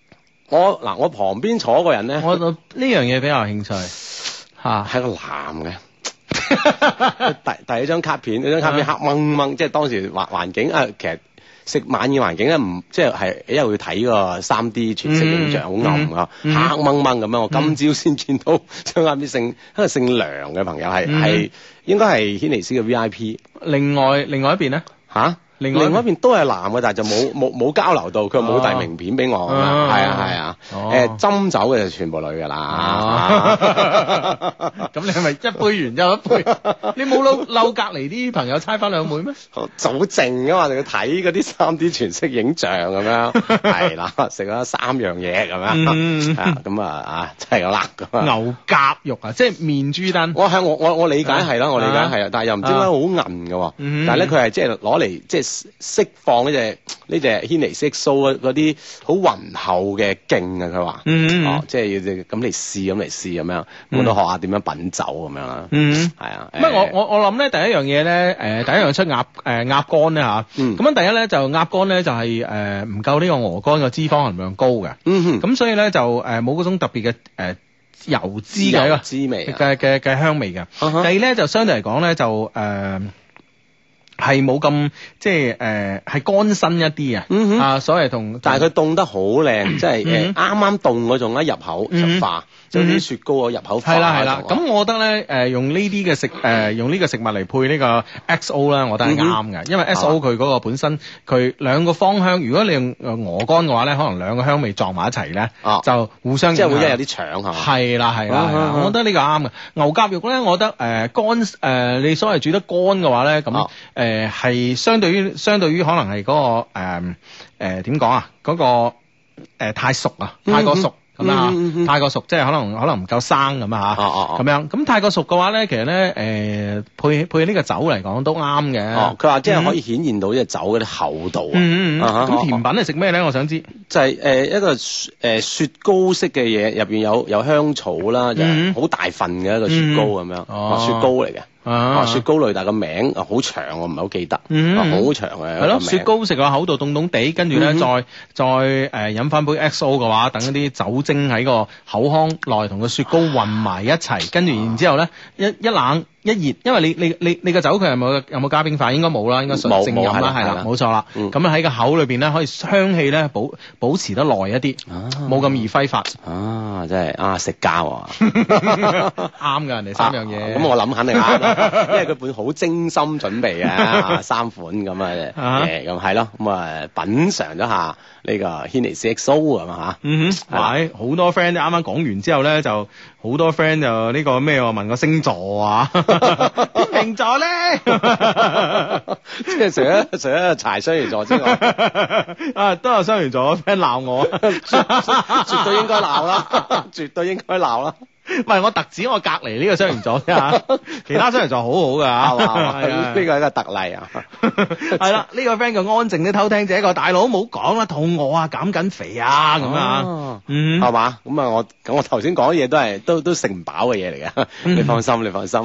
我旁邊坐個人咧， 我呢樣嘢比較有興趣嚇， 係個男嘅。第一張卡片，嗰張卡片黑掹掹，即係當時環境啊，其實食晚宴環境咧唔即係因為要睇個 3D 全息影像，好暗啊，黑掹掹咁樣。我今朝先見到張卡片，姓梁嘅朋友係應該係軒尼詩嘅 VIP。另外一邊咧嚇？另外一邊都係男嘅，但係就冇交流到，佢冇遞名片俾我。係啊，斟酒嘅就全部女㗎啦。 咁你係咪一杯完又一杯？你冇嬲隔離啲朋友猜翻兩妹咩？ 早靜啊嘛，仲要睇嗰啲 3D 全息影像咁樣。係啦，食咗3樣嘢咁樣。咁啊真係有辣㗎。 牛夾肉啊，即係面珠燈。 我理解係啦，我理解係啊，但係又唔知點解好韌㗎。但係咧佢係即係攞嚟即係釋放呢隻軒尼詩 XO 嗰啲好渾厚嘅勁啊！佢話，即係要咁嚟試咁樣，我都學下點樣品酒咁樣啦。係啊。 咁我諗咧，第一樣嘢咧，第一樣出鴨肝咧嚇。咁樣第一咧就鴨肝咧就係唔夠呢個鵝肝嘅脂肪含量高嘅。咁所以咧就冇嗰種特別嘅油脂嘅一個滋味嘅香味嘅。第二咧就相對嚟講咧就係冇咁即係係乾身一啲啊，所謂但係佢凍得好靚，即係啱啱凍嗰種一入口就化，就啲雪糕啊入口化。 係啦，咁我覺得咧用呢啲嘅用呢個食物嚟配呢個 XO 咧，我覺得係啱嘅，因為 XO 佢嗰個本身佢兩個芳香，如果你用鵝肝嘅話咧，可能兩個香味撞埋一齊咧，就互相即係會有啲搶係嘛？係啦，我覺得呢個啱嘅。牛夾肉咧，我覺得乾你所謂煮得乾嘅話咧，咁係相對於可能係嗰個點講啊？嗰個太熟啊，太過熟咁啊，太過熟即係可能唔夠生咁啊嚇，咁樣咁太過熟嘅話咧，其實咧配呢個酒嚟講都啱嘅。 佢話即係可以顯現到呢個酒嗰啲厚度啊。 咁甜品係食咩咧？我想知就係一個雪糕式嘅嘢，入邊有香草啦，就好大份嘅一個雪糕咁樣，雪糕嚟嘅。雪糕類，但係個名好長，我唔係好記得。好長嘅。係咯，雪糕食個口度凍凍地，跟住咧再飲翻杯 XO 嘅話，等一啲酒精喺個口腔內同個雪糕混埋一齊，跟住然之後咧一冷一熱，因為你個酒佢有冇加冰塊？應該冇啦，應該純正飲啦，係啦，冇錯啦。咁喺個口裏邊咧，可以香氣咧保持得耐一啲，冇咁易揮發。 真係食膠啱㗎，人哋3樣嘢。 咁我諗肯定啱啦。因為佢本好精心準備嘅3款咁咁係咯，咁品嘗咗下呢個軒尼詩 XO 係嘛嚇。 係好多 friend 啱啱講完之後咧，就好多 friend 就呢個咩問個星座啊，天秤座咧， 即係除咗柴雙魚座之外， 都有雙魚座 friend 鬧我， 絕對應該鬧啦，絕對應該鬧啦。 唔係我特指我隔離呢個雙魚座啫嚇，其他雙魚座好好㗎， 呢個係一個特例啊。 係啦，呢個 friend 叫安靜啲偷聽者，個大佬唔好講啦，肚餓啊，減緊肥啊咁啊， 係嘛？咁啊我頭先講嘅嘢都食唔飽嘅嘢嚟嘅，你放心。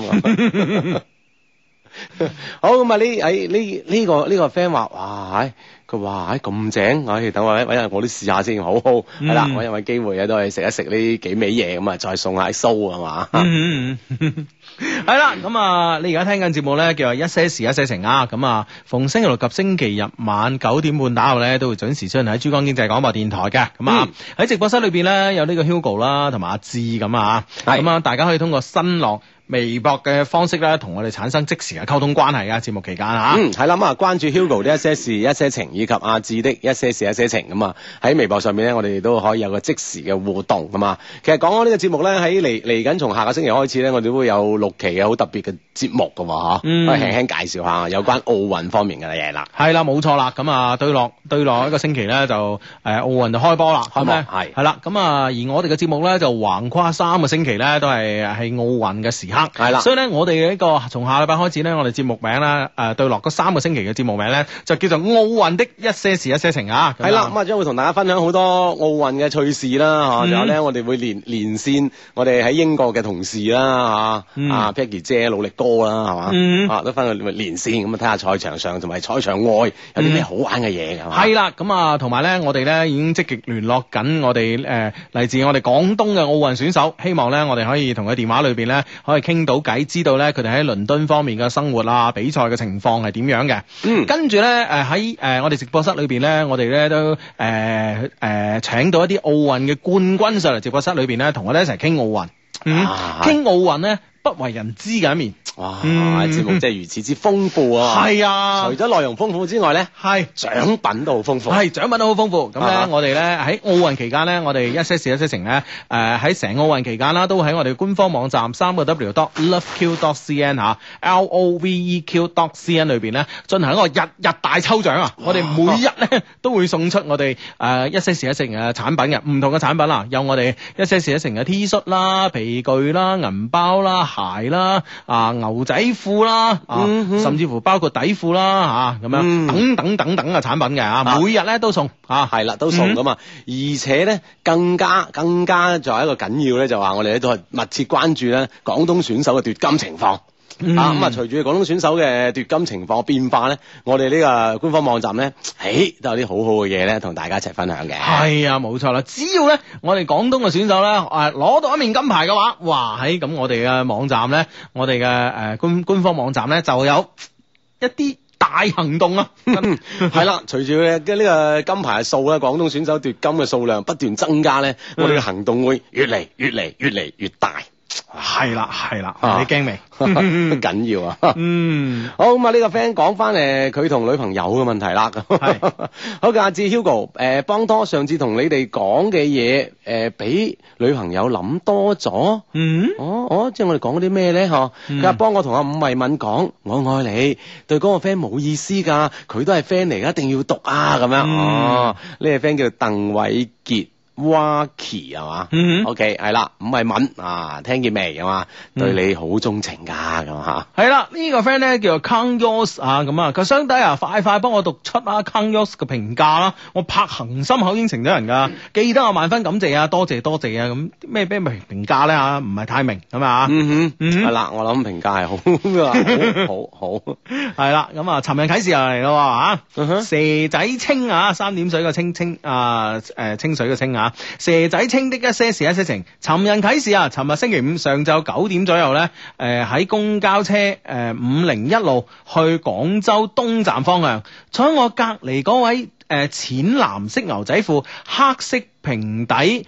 好咁啊！呢個 friend 話哇，佢話咁正，等我揾日我都試下先，好係啦，揾機會都係食一食呢幾味嘢咁啊，再送下蘇啊嘛。 係啦，咁啊，你而家聽緊節目咧，叫做一些事一些情啊。咁啊，逢星期六及星期日晚9點半打後咧，都會準時出現喺珠江經濟廣播電台嘅。咁啊，喺直播室裏邊咧，有呢個 Hugo 啦，同埋阿志咁啊。咁啊，大家可以通過新浪微博嘅方式咧，同我哋產生即時嘅溝通關係啊！節目期間嚇， 係啦，咁啊，關注 Hugo 的一些事一些情，以及阿志的一些事一些情咁啊，喺微博上面咧，我哋都可以有個即時嘅互動咁啊。其實講緊呢個節目咧，喺嚟緊從下個星期開始咧，我哋都會有6期嘅好特別嘅節目㗎喎，可以輕輕介紹下有關奧運方面嘅嘢啦。 係啦，冇錯啦。咁啊，對落一個星期咧，就奧運就開波啦。 開幕係啦。 咁啊，而我哋嘅節目咧就橫跨3個星期咧，都係奧運嘅時刻。 刻。 係啦， 所以咧，我哋呢個從下禮拜開始咧，我哋節目名啦，對落嗰3個星期嘅節目名咧，就叫做奧運的一些事一些情啊。 係啦，咁啊將會同大家分享好多奧運嘅趣事啦，仲有咧我哋會連線我哋喺英國嘅同事啦，Peggy 姐、努力哥啦，係嘛，都分享連線咁啊，睇下賽場上同埋賽場外有啲咩好玩嘅嘢㗎嘛。 係啦，咁啊同埋咧，我哋咧已經積極聯絡緊我哋嚟自我哋廣東嘅奧運選手，希望咧我哋可以同佢電話裏邊咧可以傾到偈，知道咧佢哋喺倫敦方面嘅生活啊、比賽嘅情況係點樣嘅。跟住咧喺我哋直播室裏邊咧，我哋咧都請到一啲奧運嘅冠軍上嚟直播室裏邊咧，同我哋一齊傾奧運。傾奧運咧不為人知嘅一面。 哇！節目真係如此之豐富啊！ 係啊， 除咗內容豐富之外咧，係獎品都好豐富。 係獎品都好豐富。咁咧，我哋咧喺奧運期間咧，我哋一些事一些情咧，喺成奧運期間啦，都喺我哋官方網站3w.loveq.cn 嚇 LOVEQ.cn 裏邊咧進行一個日日大抽獎啊！我哋每日咧都會送出我哋一些事一些情嘅產品嘅唔同嘅產品啦，有我哋一些事一些情嘅 T 恤啦、皮具啦、銀包啦、鞋啦、牛仔褲啦，甚至乎包括底褲啦，咁樣等等嘅產品嘅每日咧都送係啦，都送噶嘛。而且咧更加仲有一個緊要咧，就話我哋咧都係密切關注咧廣東選手嘅奪金情況。咁隨住廣東選手嘅奪金情況變化咧，我哋呢個官方網站咧，都有啲好好嘅嘢咧，同大家一齊分享嘅。 係啊，冇錯啦！只要咧我哋廣東嘅選手咧，攞到一面金牌嘅話，哇！咁我哋嘅網站咧，我哋嘅官方網站咧，就有一啲大行動啊！ 係啦，隨住嘅呢個金牌嘅數咧，廣東選手奪金嘅數量不斷增加咧，我哋嘅行動會越嚟越大。 係啦，你驚未？ 緊要啊！好咁啊，呢個 friend 講翻佢同女朋友嘅問題啦。好嘅，阿志 Hugo， 幫拖上次同你哋講嘅嘢，俾女朋友諗多咗。即係我哋講嗰啲咩咧？佢話幫我同阿伍慧敏講，我愛你，對嗰個 friend 冇意思噶，佢都係 friend 嚟，一定要讀啊！咁樣呢個 friend 叫鄧偉傑。Wacky 係嘛？OK 係啦，伍慧敏聽見未？係嘛？對你好鍾情噶咁吓。係啦， 呢個 friend 咧叫做 Kang Yos 咁啊，佢相低快幫我讀出Kang Yos 嘅評價啦，我拍恒心口應承咗人噶，記得我萬分感謝啊，多謝啊，咁咩評價咧唔係太明咁啊。 係啦，我諗評價係好好係啦，咁啊，尋人啟事又嚟咯蛇仔清3點水嘅清清水嘅清蛇仔清的一些事一些情，尋人啟事尋日星期五上晝9點左右咧，喺公交車501路去廣州東站方向，坐喺我隔籬嗰位淺藍色牛仔褲、黑色平底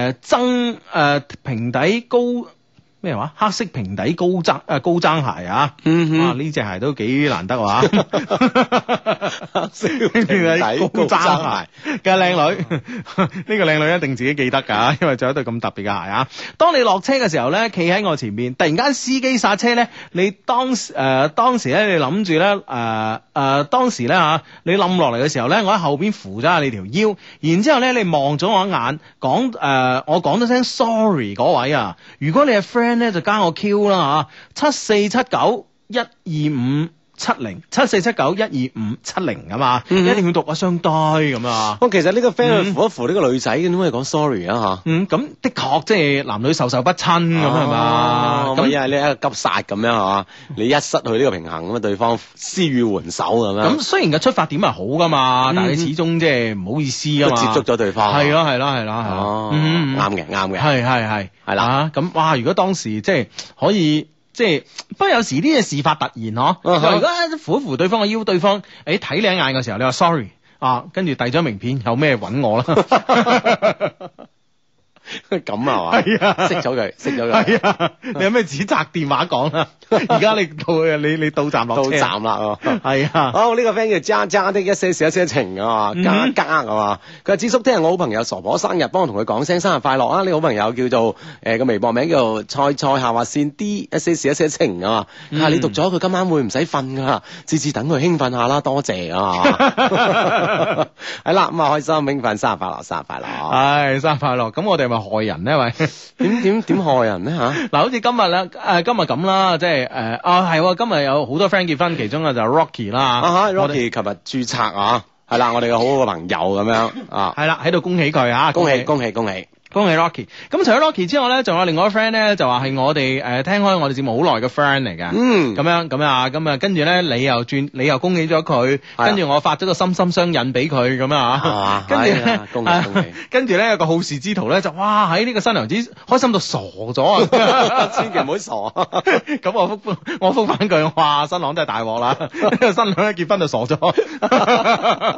平底高咩話？黑色平底高踭鞋啊！呢隻鞋都幾難得啊！黑色平底高踭鞋嘅靚女，呢個靚女一定自己記得㗎，因為着一對咁特別嘅鞋啊！當你落車嘅時候咧，企喺我前面，突然間司機剎車咧，你當時咧，你諗住咧當時咧你冧落嚟嘅時候咧，我喺後邊扶咗下你條腰，然之後咧你望咗我一眼，我講咗聲 sorry 嗰位啊！如果你係 friend 咧就加我 Q 啦74791257074779125770咁啊，一定要讀啊雙呆咁啊！ 其實呢個 friend 去扶一扶呢個女仔，點解講 sorry 啊咁的確即係男女授受不親咁係嘛？ 咁因為你一個急剎咁樣係嘛？你一失去呢個平衡咁啊，對方施予援手咁樣。咁雖然個出發點係好噶嘛，但係你始終即係唔好意思啊嘛， 接觸咗對方。 係咯， 啱嘅， 係啦。咁哇，如果當時即係可以。即係，不過有時啲嘢事發突然嗬。如果扶一扶對方嘅腰，對方睇你一眼嘅時候，你話 sorry 跟住遞咗名片，有咩揾我啦？ 咁啊嘛，係啊，熄咗佢， 係啊，你有咩指責電話講啊？而家你到站落車， 到站啦， 係啊。 好，呢個 friend 叫渣的一些事一些情啊，加係嘛？佢話智叔聽日我好朋友傻婆生日，幫我同佢講聲生日快樂啊！呢個好朋友叫做個微博名叫做菜下劃線 D 一些事一些情啊。你讀咗佢今晚會唔使瞓噶，次次等佢興奮下啦，多謝啊！係啦，咁啊開心興奮，生日快樂， 生日快樂！咁我哋咪害人咧？喂， 點害人咧吓？ 嗱，好似今日咧，今日咁啦，即係係今日有好多 friend 結婚，其中啊就 Rocky 啦 ，Rocky 琴日註冊啊，係啦，我哋嘅好好嘅朋友咁樣啊， 係啦，喺度恭喜佢啊， 恭喜 Rocky！ 咁除咗 Rocky 之外咧，仲有另外一個 friend 咧，就話係我哋聽開我哋節目好耐嘅 friend 嚟嘅。咁啊，跟住咧你又恭喜咗佢，跟住我發咗個心心相印俾佢咁啊，跟住咧， 恭喜！ 跟住咧有個好事之徒咧就哇喺呢個新娘子開心到傻咗啊！ 千祈唔好傻。 咁我覆翻句，哇新郎真係大鑊啦！新娘一結婚就傻咗。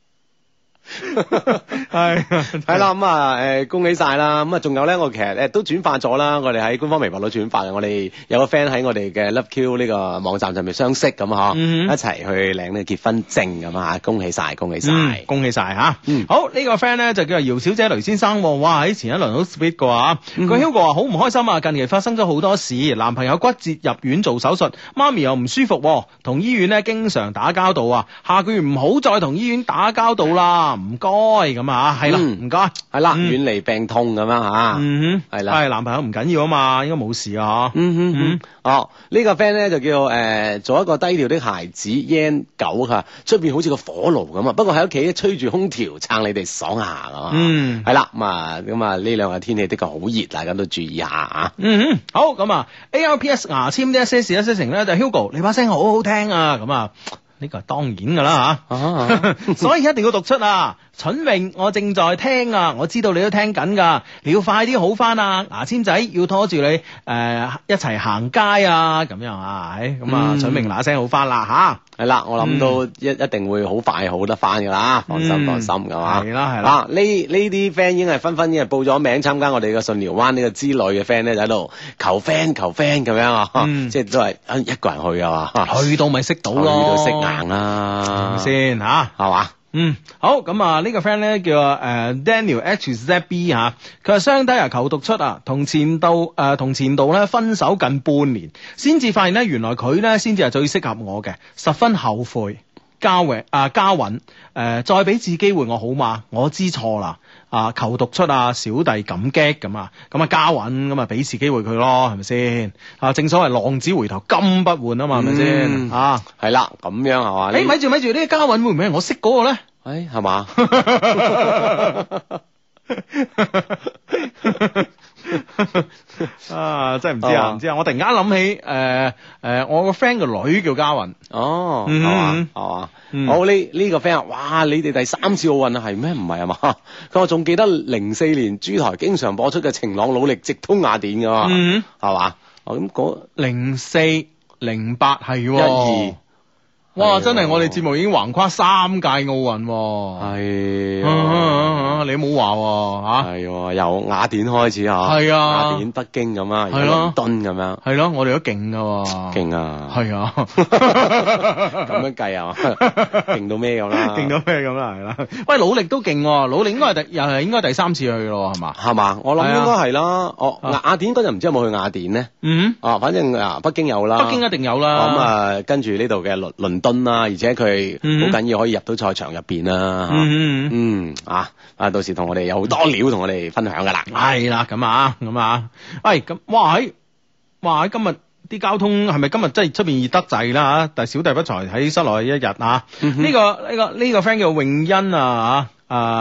係啦，咁啊，恭喜晒啦！咁啊，仲有咧，我其實都轉發咗啦，我哋喺官方微博度轉發嘅，我哋有個 friend 喺我哋嘅 Love Q 呢個網站上面相識咁嗬，一齊去領呢個結婚證咁啊！恭喜晒吓！好呢個 friend 咧就叫做姚小姐雷先生，哇喺前一輪好 sweet 嘅話，佢 Hugo 話好唔開心啊！近期發生咗好多事，男朋友骨折入院做手術，媽咪又唔舒服，同醫院咧經常打交道啊！下個月唔好再同醫院打交道啦。唔該咁啊，係啦，唔該，係啦，遠離病痛咁樣吓，係啦， 係男朋友唔緊要啊嘛，應該冇事啊， 呢個 friend 咧就叫做一個低調的孩子 Yan 9吓，出邊好似個火爐咁啊，不過喺屋企吹住空調撐你哋爽下噶嘛，係啦，咁啊呢兩日天氣的確好熱，大家都注意下啊， 好咁啊 ALPS 牙籤呢一些事一些情咧就 Hugo 你把聲好好聽啊，咁啊。呢個係當然噶啦吓，所以一定要讀出啊！蠢榮，我正在聽啊，我知道你都聽緊噶，你要快啲好翻啊！牙籤仔要拖住你一齊行街啊，咁樣啊，咁啊，蠢榮嗱聲好翻啦吓， 係啦，我諗都一定會好快好得翻噶啦，放心噶嘛，係啦，呢啲 friend 已經係紛紛已經係報咗名參加我哋嘅順寮灣呢個之旅嘅 friend 咧，就喺度求 friend 咁樣啊，即係都係一個人去啊嘛， 去到咪識到咯， 去到識硬啦， 先吓， 係嘛？ 好咁啊！呢個 friend 咧叫Daniel HZB 吓，佢話雙低啊，求讀出啊，同前度咧分手近半年，先至發現咧原來佢咧先至係最適合我嘅，十分後悔。嘉允再俾次機會我好嘛？我知錯啦，求讀出啊，小弟感激咁啊，嘉允咁啊俾次機會佢咯，係咪先？正所謂浪子回頭金不換啊嘛，係咪先？ 係啦，咁樣係嘛？ 咪住，呢個嘉允會唔會係我識嗰個咧？ 係嘛？ 真係唔知啊，唔知啊！我突然間諗起我個 friend 個女叫嘉允， 係嘛？好呢個 friend 哇！你哋第3次奧運啊，係咩？唔係啊嘛？佢話仲記得04年珠台經常播出嘅晴朗努力直通雅典噶嘛？係嘛？咁嗰 04、08係12。哇！真係我哋節目已經橫跨3屆奧運， 係你冇話吓， 係由雅典開始吓，係雅典、北京咁啊，倫敦咁樣， 係咯，我哋都勁噶， 勁啊， 係啊， 咁樣計啊，勁到咩咁啦， 勁到咩咁啦，係啦，喂，努力都勁，努力應該係應該第3次去咯，係嘛？ 係嘛？我諗應該係啦，雅典嗰陣唔知有冇去雅典咧？反正北京有啦， 北京一定有啦， 咁跟住呢度嘅倫敦啦，而且佢好緊要可以入到賽場入邊啦，到時同我哋有好多料同我哋分享噶啦， 係啦，咁啊，喂，咁哇喺今日啲交通係咪今日真係出邊熱得滯啦吓？但係小弟不才喺室內一日啊，呢個 friend 叫泳欣啊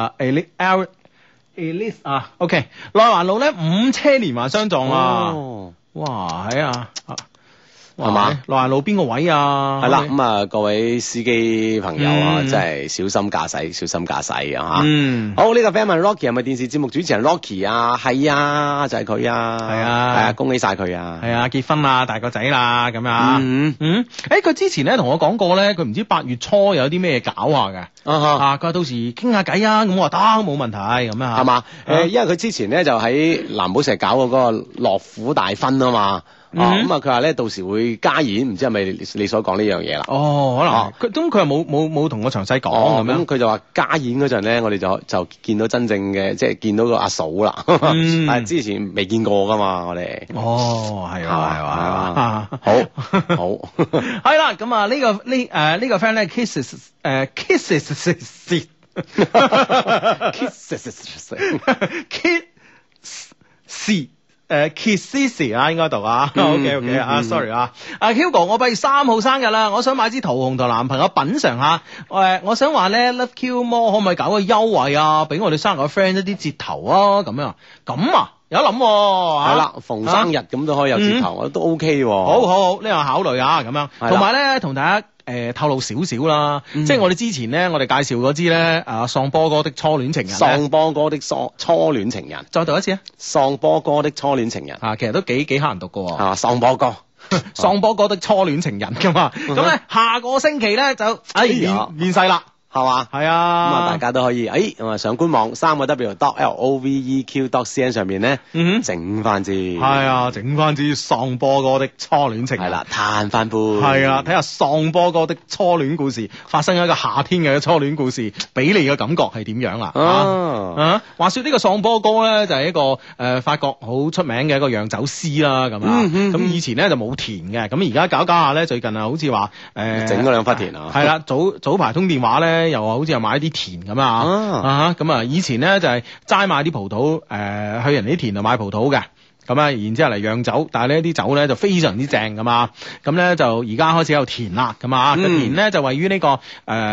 Elise 啊 ，OK， 內環路咧5車連環相撞啊，哇係啊！係嘛？內環路邊個位啊？ 係啦，咁啊，各位司機朋友啊，真係小心駕駛，小心駕駛啊！吓，好呢個 friend 問 Rocky 係咪電視節目主持人 Rocky 啊？係啊，就係佢啊！係啊，恭喜晒佢啊！ 係啊，結婚啦，大個仔啦，咁啊！佢之前咧同我講過咧，佢唔知8月初有啲咩搞下嘅佢話到時傾下偈啊，咁我話得冇問題咁啊， 係嘛？因為佢之前咧就喺藍寶石搞嗰個樂府大婚啊嘛。佢話咧到時會加演，唔知係咪你所講呢樣嘢啦？ 可能佢又冇同我詳細講咁樣。 咁佢就話加演嗰陣咧，我哋就見到真正嘅，即係見到個阿嫂啦。係之前未見過噶嘛，我哋。 係啊， 好， 係啦，咁啊呢個 friend 咧 kisses Kissy 啊，應該讀啊。OK 啊，sorry 啊。Hugo， 我8月3號生日啦，我想買支桃紅同男朋友品嚐下。我想話咧 Love Q More 可唔可以搞個優惠啊？俾我哋生日嘅 friend 一啲折頭啊，咁啊，有諗係啦，逢生日咁都可以有折頭，都 OK 喎。 好，呢個考慮啊，咁樣。同埋咧，同大家透露少少啦，即係我哋之前咧，我哋介紹嗰支咧喪波哥的初戀情人， 喪波哥的初戀情人， 再讀一次啊！ 喪波哥的初戀情人其實都幾乞人讀噶喎。 喪波哥， 喪波哥的初戀情人噶嘛。咁咧下個星期咧就面世啦。係嘛？係啊，咁啊， 大家都可以，咁啊，上官網3w.loveq.cn 上面咧，整翻支， 係啊，整翻支喪波哥的初戀情人， 係啦，嘆翻杯， 係啊，睇下喪波哥的初戀故事，發生喺一個夏天嘅初戀故事，俾你嘅感覺係點樣啦？話說呢個喪波哥咧，就係一個法國好出名嘅一個釀酒師啦，咁啊，咁以前咧就冇田嘅，咁而家搞下咧，最近啊，好似話整嗰兩忽田啊， 係啦，早排通電話咧。又好似又買啲田咁咁啊！以前咧就係齋買啲葡萄，去人哋啲田度買葡萄嘅，咁啊，然之後嚟釀酒，但係呢啲酒咧就非常之正噶嘛，咁咧就而家開始有田啦，咁啊，個田咧就位於呢個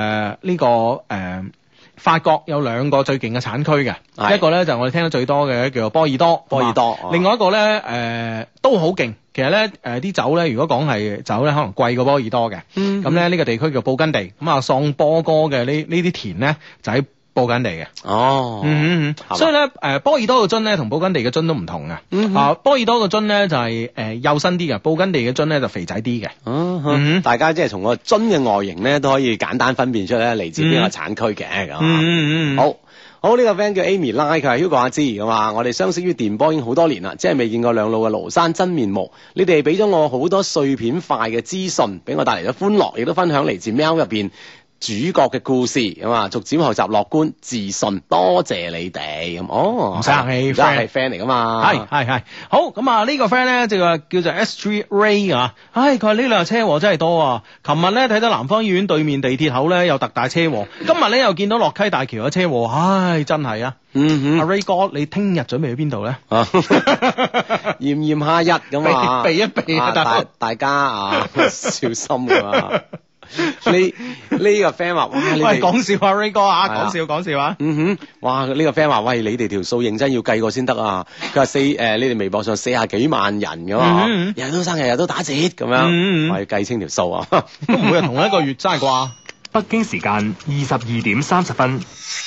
法國有兩個最勁嘅產區嘅，一個咧就我哋聽得最多嘅叫做波爾多，另外一個咧都好勁。其實咧，啲酒咧，如果講係酒咧，可能貴過波爾多嘅。咁咧呢個地區叫布根地，咁啊喪波哥嘅呢啲田咧就喺布根地嘅。所以咧，波爾多嘅樽咧同布根地嘅樽都唔同嘅。波爾多嘅樽咧就係幼身啲嘅，布根地嘅樽咧就肥仔啲嘅。 大家即係從個樽嘅外形咧都可以簡單分辨出咧嚟自邊個產區嘅咁。好，呢個 friend 叫 Amy 拉，佢係 Hugo 阿芝咁啊！我哋相識於電波已經好多年啦，即係未見過兩老嘅廬山真面目。你哋俾咗我好多碎片塊嘅資訊，俾我帶嚟咗歡樂，亦都分享嚟自喵入邊主角嘅故事咁啊！逐漸學習樂觀自信，多謝你哋咁。 唔使客氣， 而家係 friend 嚟噶嘛？ 係好咁啊！呢個 friend 咧就叫做 S3 Ray 啊！佢話呢兩日車禍真係多啊！琴日咧睇到南方醫院對面地鐵口咧有特大車禍，今日咧又見到落溪大橋有車禍，真係啊！阿 Ray 哥，你聽日準備去邊度咧？ 炎炎夏日咁啊， 避一避大家啊，小心啊！呢個 friend 話：哇，你哋講笑啊 Ray 哥啊，講笑啊！ 哇，呢個 friend 話：喂，你哋條數認真要計過先得啊！佢話你哋微博上40幾萬人噶嘛，日日都生日日都打折咁樣，我要計清條數啊！ 都每日同一個月真係啩？ 北京時間22:30。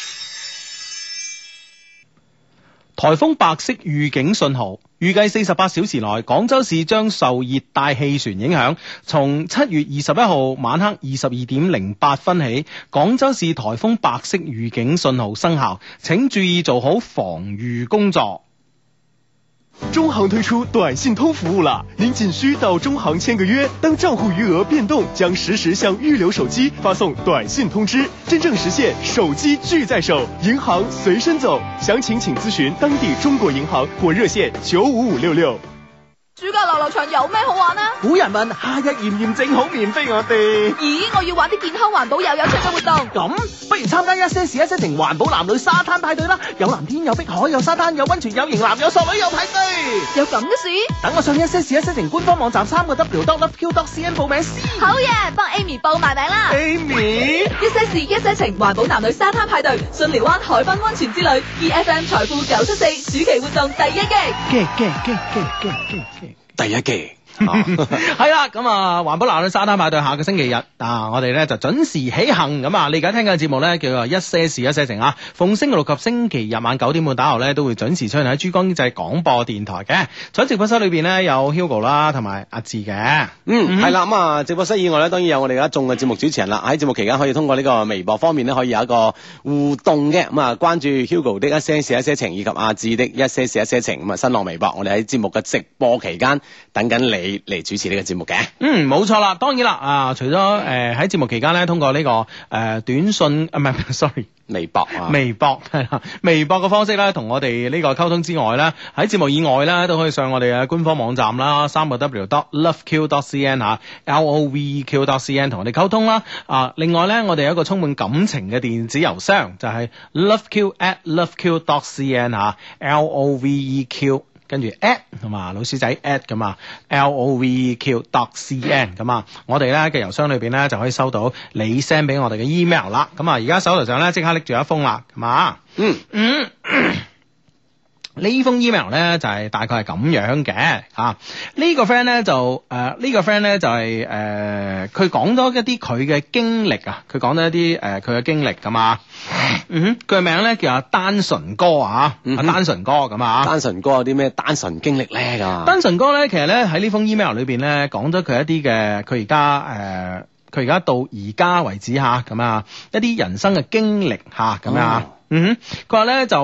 颱風白色預警信號，預計48小時內廣州市將受熱帶氣旋影響，從7月21號晚黑22:08起，廣州市颱風白色預警信號生效，請注意做好防禦工作。 中行推出短信通服務了，您僅需到中行簽個約，當賬戶餘額變動，將實時向預留手機發送短信通知，真正實現手機俱在手，銀行隨身走。詳情請諮詢當地中國銀行或熱線95566。 暑假遊樂場有咩好玩啊？ 古人問夏日炎炎正好面飛我哋。 咦，我要玩啲健康環保又有趣嘅活動。 咁不如參加一些事一些情環保男女沙灘派對啦！有藍天有碧海有沙灘有溫泉有型男有索女有派對。 有咁嘅事？ 等我上一些事一些情官方網站3w.loveq.cn 報名先。 好嘢，幫 Amy 報埋名啦。 Amy， 一些事一些情環保男女沙灘派對，巽寮灣海濱溫泉之旅 ，EFM 財富974暑期活動第一季。 第一季係啦，咁啊，環保男女沙灘派對下個星期日我哋咧就準時起行咁啊！你而家聽緊嘅節目咧叫做一些事一些情啊，逢星期六及星期日晚9點半打後咧都會準時出現喺珠江經濟廣播電台嘅。喺直播室裏邊咧有 Hugo 啦，同埋阿志嘅。 係啦，咁啊，直播室以外咧，當然有我哋一眾嘅節目主持人啦。喺節目期間可以通過呢個微博方面咧，可以有一個互動嘅。咁啊，關注 Hugo 的一些事一些情以及阿志的一些事一些情。咁啊，新浪微博，我哋喺節目嘅直播期間等緊你你嚟主持呢個節目嘅。 冇錯啦，當然啦除咗喺節目期間咧，通過呢、個短信唔係 sorry。 微博啊， 微博係啦，微博嘅方式咧，同我哋呢個溝通之外咧，喺節目以外咧，都可以上我哋嘅官方網站啦，www.loveq.cn 吓 ，LOVEQ.cn 同我哋溝通啦。另外咧，我哋有一個充滿感情嘅電子郵箱，就係 loveq@loveq.cn 吓 ，LOVEQ。跟住 at 同埋老鼠仔 at 咁啊 ，LOVEQ.cn 咁啊，我哋咧嘅郵箱裏邊咧就可以收到你 send 俾我哋嘅 email 啦。咁啊，而家手頭上咧即刻拎住一封啦，係嘛？呢封 email 咧就係大概係咁樣嘅呢個 friend 咧就係佢講咗一啲佢嘅經歷啊，佢講咗一啲佢嘅經歷咁啊。佢嘅名咧叫阿單純哥啊，阿單純哥咁啊。 單純哥有啲咩單純經歷咧？咁單純哥咧，其實咧喺呢封 email 裏邊咧講咗佢一啲嘅，佢而家到而家為止吓咁啊，一啲人生嘅經歷吓咁啊。佢話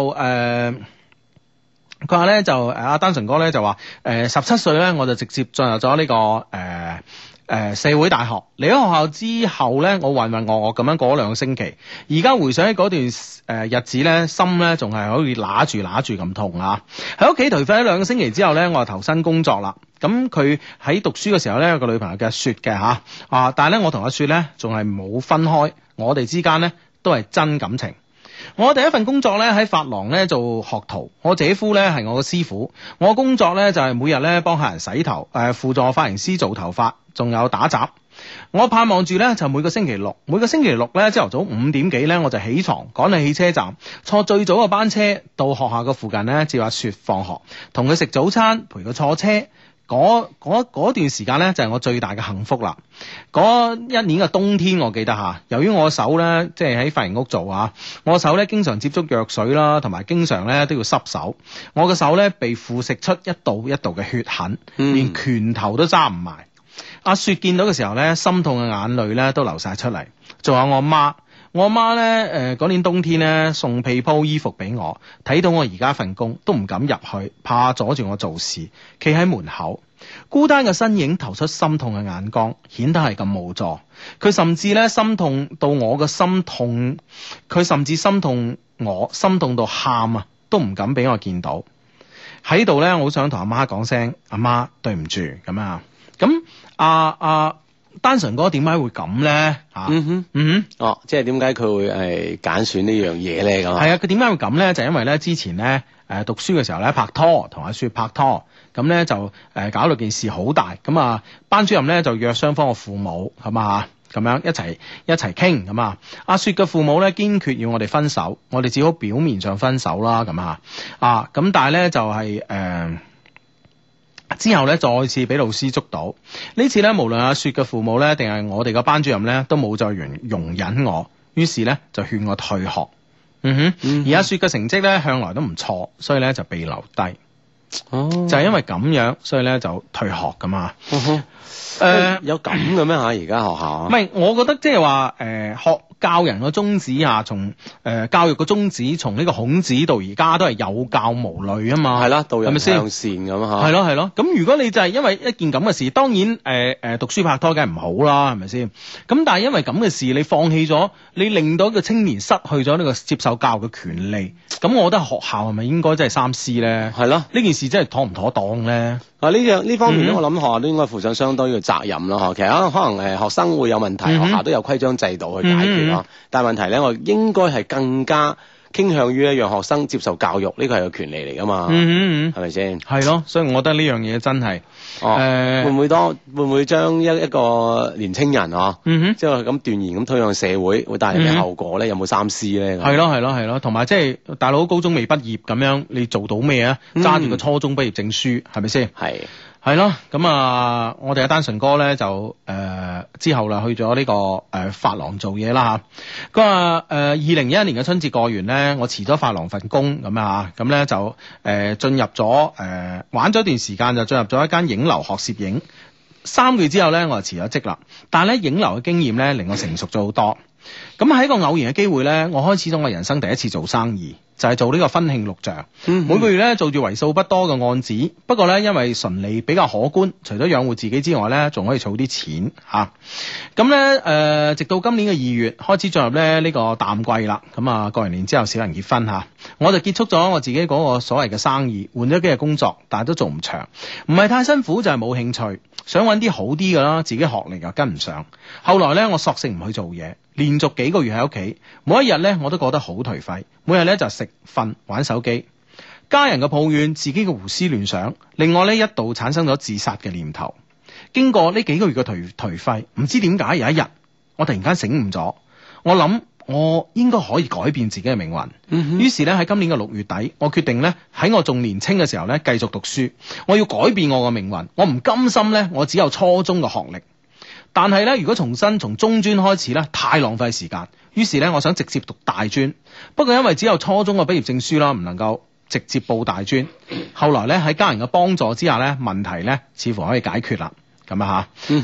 咧就阿單純哥咧就話17歲咧我就直接進入咗呢個社會大學。離咗學校之後咧，我渾渾噩噩咁樣過咗2個星期。而家回想起嗰段日子咧，心咧仲係好似揦住咁痛啊！喺屋企頹廢咗2個星期之後咧，我就投身工作啦。咁佢喺讀書嘅時候咧，有個女朋友叫阿雪嘅但係咧我同阿雪咧仲係冇分開，我哋之間咧都係真感情。我第一份工作咧喺髮廊咧做學徒，我姐夫咧係我嘅師傅。我工作咧就係每日咧幫客人洗頭，輔助髮型師做頭髮，仲有打雜。我盼望住咧就每個星期六咧朝頭早5點幾咧我就起床趕去汽車站，坐最早嘅班車到學校嘅附近咧接阿雪放學，同佢食早餐，陪佢坐車。嗰段時間咧就係我最大嘅幸福啦。嗰一年嘅冬天我記得由於我手咧即係喺髮型屋做我手咧經常接觸藥水啦，同埋經常咧都要濕手。我嘅手咧被腐蝕出一道一道嘅血痕，連拳頭都揸唔埋。阿雪見到嘅時候咧，心痛嘅眼淚咧都流晒出嚟。仲有我媽咧嗰年冬天咧送被鋪衣服俾我，睇到我而家份工都唔敢入去，怕阻住我做事，企喺門口，孤單嘅身影投出心痛嘅眼光，顯得係咁無助。佢甚至咧心痛到我嘅心痛，佢甚至心痛我，心痛到喊都唔敢俾我見到。喺度咧，我好想同阿媽講聲，阿媽對唔住咁啊。咁單純哥點解會咁咧？ 即係點解佢會揀選呢樣嘢咧？咁係啊，佢點解會咁咧？就因為咧之前咧讀書嘅時候咧拍拖，同阿雪拍拖，咁咧就搞到件事好大。咁班主任咧就約雙方嘅父母係嘛，咁樣一齊傾咁啊。阿雪嘅父母咧堅決要我哋分手，我哋只好表面上分手啦。咁咁但係咧就係之後咧再次俾老師捉到，呢次咧無論阿雪嘅父母咧定係我哋嘅班主任咧都冇再容忍我，於是咧就勸我退學。而阿雪嘅成績咧向來都唔錯，所以咧就被留低。就係因為咁樣，所以咧就退學噶嘛。 有咁嘅咩而家學校？ 唔係，我覺得即係話學教人個宗旨從教育個宗旨，從呢個孔子到而家都係有教無類啊嘛。係啦，導人向善咁嚇。係咯。咁如果你就係因為一件咁嘅事，當然讀書拍拖梗係唔好啦，係咪先？咁但係因為咁嘅事，你放棄咗，你令到一個青年失去咗呢個接受教育嘅權利。咁我覺得學校係咪應該真係三思咧？係咯，呢件事真係妥唔妥當咧？ 呢方面咧，我諗學校都應該負上相當嘅責任咯。其實可能學生會有問題，學校都有規章制度去解決咯。但係問題咧，我應該係更加傾向於讓學生接受教育，呢個係個權利嚟噶嘛。係咪先？係咯，所以我覺得呢樣嘢真係會唔會將一個年青人即係咁斷然咁推向社會，會帶嚟咩後果咧？有冇三思咧？係咯，同埋即係大佬高中未畢業咁樣，你做到咩啊？揸住個初中畢業證書，係咪先？係咯，咁我哋阿單純哥咧就之後啦去咗呢個髮廊做嘢啦嚇。佢話2011年嘅春節過完咧，我辭咗髮廊份工咁咧就進入咗玩咗一段時間，就進入咗一間影樓學攝影。3個月之後咧，我就辭咗職啦。但係咧影樓嘅經驗咧令我成熟咗好多。咁喺一個偶然嘅機會咧，我開始咗我人生第一次做生意。 就係做呢個婚慶錄像，每個月咧做住為數不多嘅案子，不過咧因為純利比較可觀，除咗養活自己之外咧，仲可以儲啲錢嚇。咁咧直到今年嘅2月開始進入咧呢個淡季啦，咁啊過完年之後少人結婚嚇，我就結束咗我自己嗰個所謂嘅生意，換咗幾日工作，但係都做唔長，唔係太辛苦就係冇興趣，想揾啲好啲嘅啦，自己學歷又跟唔上。後來咧我索性唔去做嘢，連續幾個月喺屋企，每一日咧我都覺得好頹廢，每日咧就食瞓玩手機，家人嘅抱怨，自己嘅胡思亂想，令我咧一度產生咗自殺嘅念頭。經過呢幾個月嘅頹廢，唔知點解有一日我突然間醒悟咗，我諗我應該可以改變自己嘅命運。於是咧喺今年嘅6月底，我決定咧喺我仲年輕嘅時候咧繼續讀書，我要改變我嘅命運，我唔甘心咧我只有初中嘅學歷。但係咧，如果重新從中專開始咧，太浪費時間。於是咧，我想直接讀大專。不過因為只有初中嘅畢業證書啦，唔能夠直接報大專。後來咧喺家人嘅幫助之下咧，問題咧似乎可以解決啦。咁啊嚇，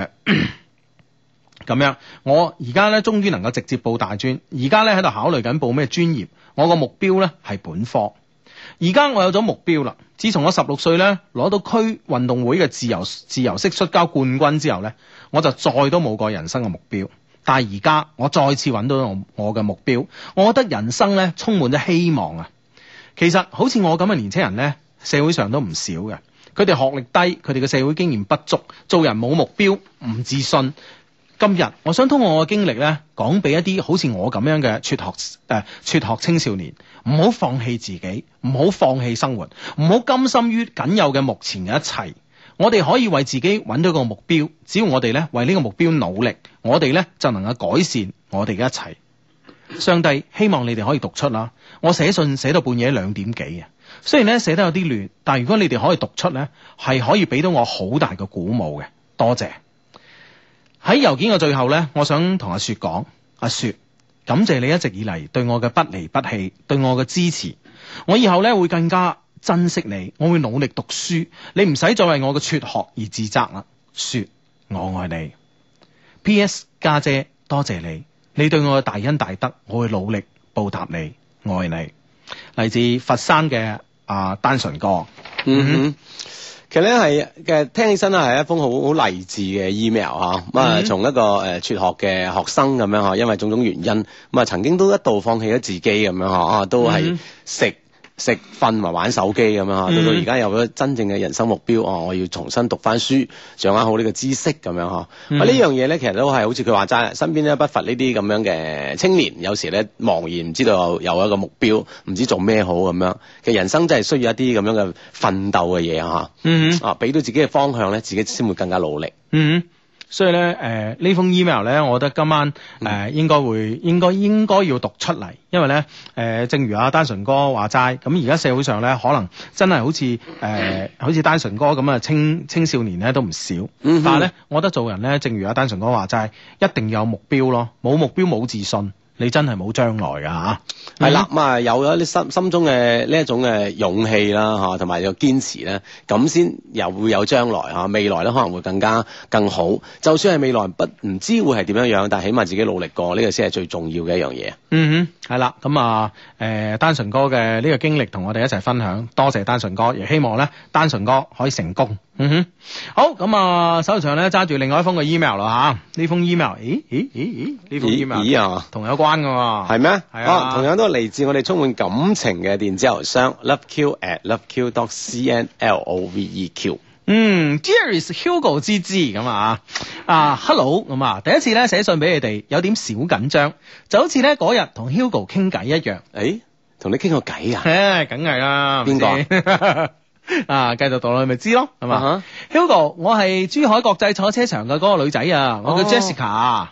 咁樣我而家咧終於能夠直接報大專。而家咧喺度考慮緊報咩專業。我個目標咧係本科。而家我有咗目標啦。自從我16歲咧攞到區運動會嘅自由式摔跤冠軍之後咧，我就再都冇過人生嘅目標。但係而家我再次揾到我嘅目標，我覺得人生咧充滿咗希望啊！其實好似我咁嘅年輕人咧，社會上都唔少嘅。佢哋學歷低，佢哋嘅社會經驗不足，做人冇目標，唔自信。今日我想通過我嘅經歷咧，講俾一啲好似我咁樣嘅輟學青少年，唔好放棄自己，唔好放棄生活，唔好甘心於僅有嘅目前嘅一切。我哋可以為自己揾到個目標，只要我哋咧為呢個目標努力，我哋咧就能夠改善我哋嘅一切。上帝希望你哋可以讀出啦。我寫信寫到半夜2點幾啊，雖然咧寫得有啲亂，但係如果你哋可以讀出咧，係可以俾到我好大嘅鼓舞嘅。多謝。喺郵件嘅最後咧，我想同阿雪講，阿雪，感謝你一直以嚟對我嘅不離不棄，對我嘅支持。我以後咧會更加珍惜你，我會努力讀書，你唔使再為我嘅輟學而自責啦。雪，我愛你。P.S. 家姐，多謝你，你對我嘅大恩大德，我會努力報答你，愛你。嚟自佛山嘅單純哥。 其實咧係聽起身咧係一封好勵志嘅 email 嚇，咁啊從一個輟學嘅學生咁樣嚇，因為種種原因咁啊曾經都一度放棄咗自己咁樣嚇，都係食瞓埋玩手機咁樣嚇，到而家有咗真正嘅人生目標，我要重新讀翻書，掌握好呢個知識咁樣嚇。呢樣嘢咧其實都係好似佢話齋，身邊咧不乏呢啲咁樣嘅青年，有時咧茫然唔知道有一個目標，唔知做咩好咁樣。其實人生真係需要一啲咁樣嘅奮鬥嘅嘢嚇，俾到自己嘅方向咧，自己先會更加努力。 所以咧，呢封 email 咧，我覺得今晚應該要讀出嚟，因為咧，正如阿單純哥話齋，咁而家社會上咧，可能真係好似單純哥咁啊，青少年咧都唔少。但係咧，我覺得做人咧，正如阿單純哥話齋，一定要有目標咯，冇目標冇自信，你真係冇將來㗎嚇。 係啦，咁啊有咗啲心中嘅呢一種嘅勇氣啦嚇，同埋有堅持咧，咁先又會有將來嚇，未來咧可能會更好。就算係未來唔知會係點樣樣，但係起碼自己努力過，呢個先係最重要嘅一樣嘢。 係啦，咁啊單純哥嘅呢個經歷同我哋一齊分享，多謝單純哥，亦希望咧單純哥可以成功。好，咁啊手上咧揸住另外一封嘅 email 啦嚇，呢封 email， 呢封 email 同有關㗎喎，係咩？係啊， 同樣都係嚟自我哋充滿感情嘅電子郵箱 loveq@loveq.cn LOVEQ。 Dear is Hugo 之咁Hello 咁啊，第一次咧寫信俾你哋，有點小緊張，就好似咧嗰日同 Hugo 傾偈一樣。 同你傾過偈啊？ 梗係啦。邊個？ 繼續讀落去咪知咯，係嘛？Hugo， 我係珠海國際賽車場嘅嗰個女仔啊，我叫 Jessica。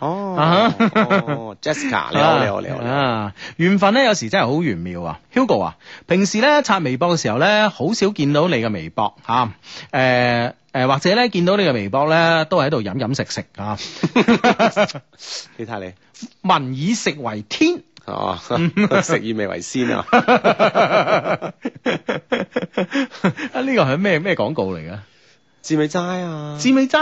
Jessica， 你好。 緣分咧有時真係好玄妙啊。Hugo 啊，平時咧刷微博嘅時候咧，好少見到你嘅微博吓，或者咧見到你嘅微博咧，都係喺度飲食啊。 你睇你， 民以食為天。 食以味為先啊！ 呢個係咩廣告嚟噶？ 志美齋啊！ 志美齋咩？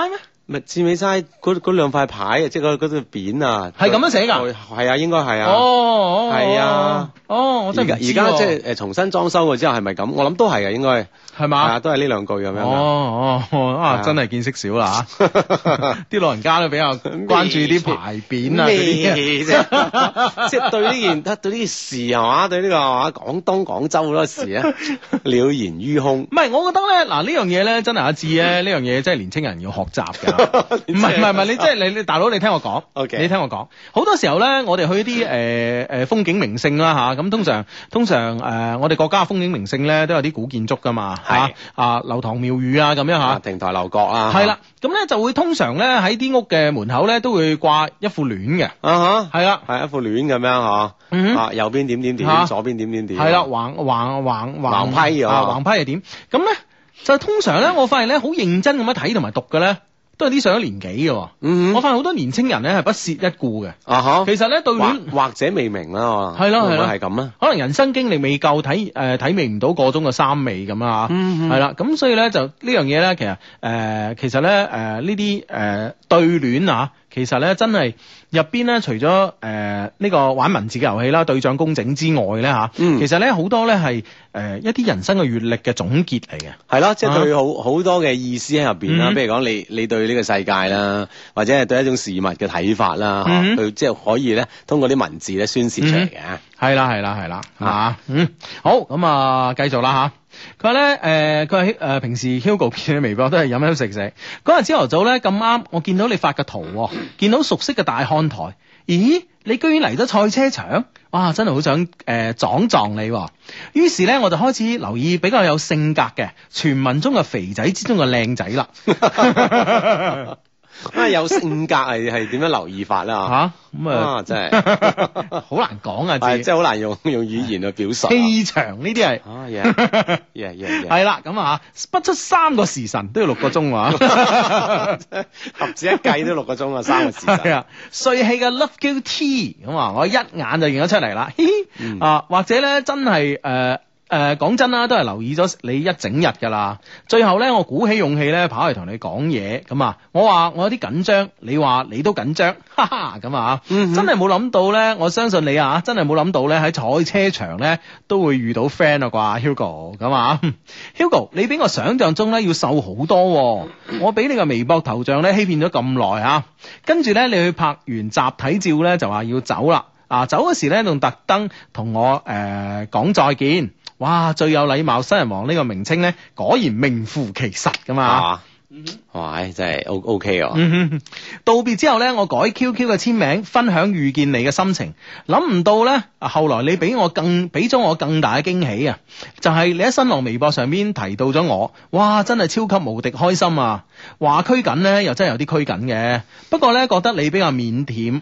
咪致美齋嗰兩塊牌，即係嗰條匾啊， 係咁樣寫㗎？ 係啊，應該係啊。 哦， 係啊。 我真係而家即係重新裝修過之後係咪咁？我諗都係嘅，應該係嘛？ 係啊，都係呢兩句咁樣。 真係見識少啦嚇！啲老人家都比較關注啲牌匾啊嗰啲啫，即係對呢件事係嘛？對呢個係嘛？廣州好多事啊，了然於胸。 唔係，我覺得咧嗱呢樣嘢咧真係阿志咧呢樣嘢真係年青人要學習㗎。唔係，你即係你大佬，你聽我講。 Okay. 你聽我講，好多時候咧，我哋去啲風景名勝啦嚇，咁通常我哋國家嘅風景名勝咧都有啲古建築㗎嘛嚇，樓堂廟宇啊咁樣嚇， 亭台樓閣啊， 係啦，咁咧就會通常咧喺啲屋嘅門口咧都會掛一副聯嘅，係啦， 係一副聯咁樣嚇，右邊點，左邊點，係啦，橫批橫批係點？咁咧就通常咧，我發現咧好認真咁樣睇同埋讀嘅咧。都係啲上咗年紀嘅，我發現好多年青人咧係不屑一顧嘅。其實咧對聯或者未明啦， 係咯， 係咁啦。 可能人生經歷未夠，體味唔到個中嘅三味咁啊。係啦，咁所以咧就呢樣嘢咧，其實咧呢啲對聯啊，其實咧真係入邊咧除咗呢個玩文字嘅遊戲啦、對仗工整之外咧嚇，其實咧好多咧係一啲人生嘅閲歷嘅總結嚟嘅。 係咯，即係對好多嘅意思喺入邊啦。譬如講你對呢個世界啦，或者係對一種事物嘅睇法啦，佢即係可以咧通過啲文字咧宣泄出嚟嘅。 係啦，嚇，好咁啊，繼續啦嚇。佢話咧佢話平時 Hugo 見你微博都係飲飲食食。嗰日朝頭早咧咁啱，我見到你發嘅圖，見到熟悉嘅大看台，咦？你居然嚟咗賽車場，哇！真係好想撞你。於是咧我就開始留意比較有性格嘅傳聞中嘅肥仔之中嘅靚仔啦。 有性格係點樣留意法啦？ 咁啊真係好難講啊！ 即係好難用語言去表述。 氣場呢啲係係啦，咁啊不出3個時辰都要6個鐘啊！ 合指一計都6個鐘啊，3個時辰。 係啊，帥氣嘅 Love Q T 咁啊，我一眼就認咗出嚟啦。或者咧真係講真啦，都係留意咗你一整日噶啦。最後咧，我鼓起勇氣咧，跑嚟同你講嘢。咁啊，我話我有啲緊張，你話你都緊張，哈哈咁啊。真係冇諗到咧，我相信你啊，真係冇諗到咧喺賽車場咧都會遇到 friend 啊啩 Hugo 咁啊。Hugo 你比我想象中咧要瘦好多。我俾你個微博頭像咧欺騙咗咁耐啊，跟住咧你去拍完集體照咧就話要走啦。走嗰時咧仲特登同我講再見。哇！最有禮貌新人王呢個名稱咧，果然名副其實噶嘛。 哇！真係 OK 啊。 道別之後咧，我改 QQ 嘅簽名，分享遇見你嘅心情。諗唔到咧，後來你俾咗我更大嘅驚喜啊！就係你喺新浪微博上邊提到咗我，哇！真係超級無敵開心啊！話拘謹咧，又真係有啲拘謹嘅。不過咧，覺得你比較腼腆。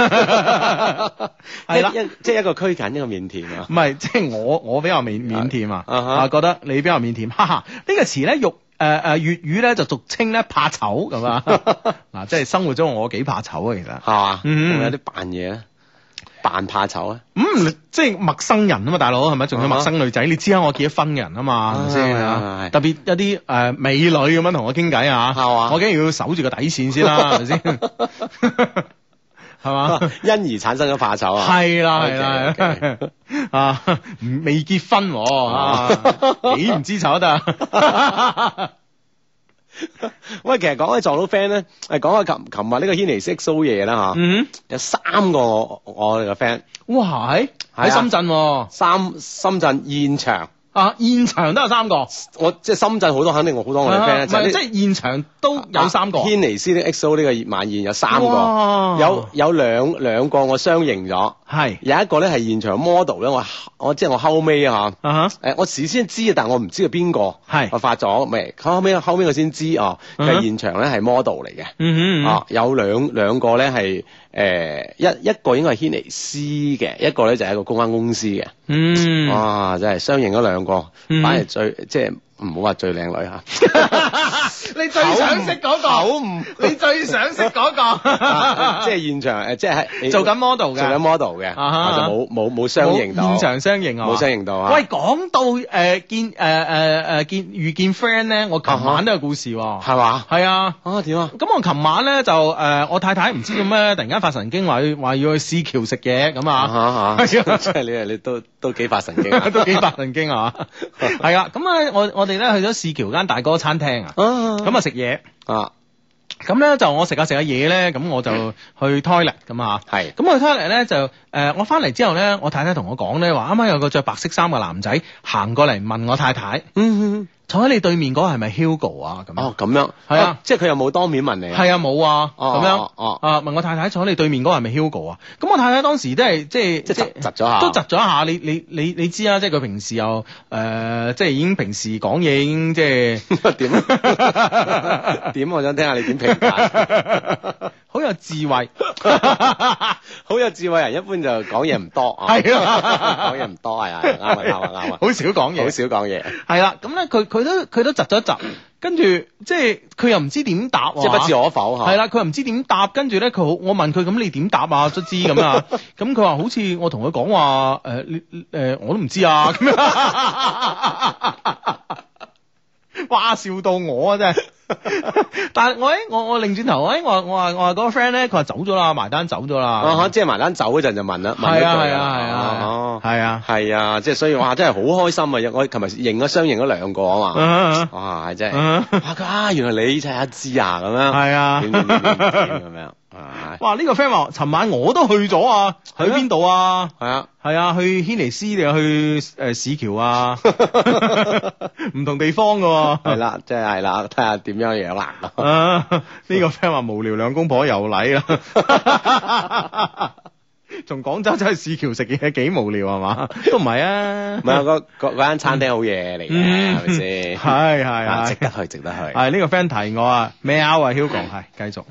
係啦， 即係一個拘謹，一個腼腆啊。 唔係，即係我比較腼腆啊。覺得你比較腼腆。哈哈，呢個詞咧粵語咧就俗稱咧怕醜咁啊。嗱，即係生活中我幾怕醜啊，其實係嘛，會有啲扮嘢咧，扮怕醜啊。 即係陌生人啊嘛，大佬係咪？仲有陌生女仔，你知啊，我結咗婚嘅人啊嘛，係咪先？特別一啲美女咁樣同我傾偈啊，我梗係要守住個底線先啦，係咪先？係嘛？ 因而產生咗怕醜啊！ 係啦，未結婚，幾唔知醜得。 喂，其實講起撞到 friend 咧，講下琴日呢個軒尼詩 XO 夜啦吓，有3個我哋嘅 friend， 哇喺深圳， 深圳現場。 現場都有3個， 我即係深圳好多，肯定好多我哋 friend 唔係即係現場都有3個。 軒尼詩的 XO 呢個晚宴有3個，有兩個我相認咗，係有一個咧係現場 model 咧，我即係我後尾我事先知，但我唔知係邊個，係我發咗未？後尾我先知佢係現場咧係 model 嚟嘅，有兩個咧係一個應該係軒尼詩嘅，一個咧就係一個公關公司嘅，哇！真係相認咗2個，反而最即係唔好話最靚女嚇。 你最想識嗰個，你最想識嗰個， 即係現場即係做緊 model 嘅， 做緊 model 嘅，就冇相認到， 現場相認啊， 冇相認到啊。 喂，講到遇見 friend 咧，我琴晚都有故事喎， 係嘛？ 係啊， 點啊？ 咁我琴晚咧就我太太唔知做咩，突然間發神經話要去市橋食嘢咁啊， 即係你都幾發神經， 都幾發神經啊，係啊，咁啊我哋咧去咗市橋間大哥餐廳啊，咁啊食嘢啊。咁咧就我食下嘢咧，咁我就去 toilet 咁啊，係，咁去 toilet 咧就我翻嚟之後咧，我太太同我講咧話，啱啱有個着白色衫嘅男仔行過嚟問我太太，坐喺你對面嗰個係咪 Hugo 啊？咁哦，咁樣係啊，即係佢又冇當面問你， 係啊冇啊，咁樣問我太太坐喺你對面嗰個係咪 Hugo 啊？咁我太太當時都係即係窒咗下， 都窒咗一下。你知啊，即係佢平時又即係已經平時講嘢已經即係點？我想聽下你點評價。 好有智慧， 好有智慧人一般就講嘢唔多啊，係啊，講嘢唔多係啊，啱啊， 好少講嘢， 好少講嘢， 係啦，咁咧佢都窒咗一窒，跟住即係佢又唔知點答， 即係不置可否嚇， 係啦，佢又唔知點答，跟住咧我問佢咁你點答啊？卒之咁啊，咁佢話好似我同佢講話我都唔知啊，咁樣，哇笑到我啊真係。但係我擰轉頭，我話嗰個 friend 咧，佢話走咗啦，埋單走咗啦。即係埋單走嗰陣就問啦。 係啊， 係啊，即係所以哇，真係好開心啊！我琴日相認咗2個啊嘛。哇，真係原來你就係阿芝啊咁樣。係啊，點咁樣。 哇！呢個 friend 話，尋晚我都去咗啊，去邊度啊？係啊，去軒尼詩定係去市橋啊？唔同地方噶。係啦， 即係啦，睇下點樣樣啦。 呢個 friend 話無聊兩公婆又嚟啦。從廣州走去市橋食嘢幾無聊係嘛？都唔係啊， 唔係嗰間餐廳好嘢嚟嘅，係咪先？ 係值得去。 係呢個 friend 提我啊，咩啊 Hugo 係繼續。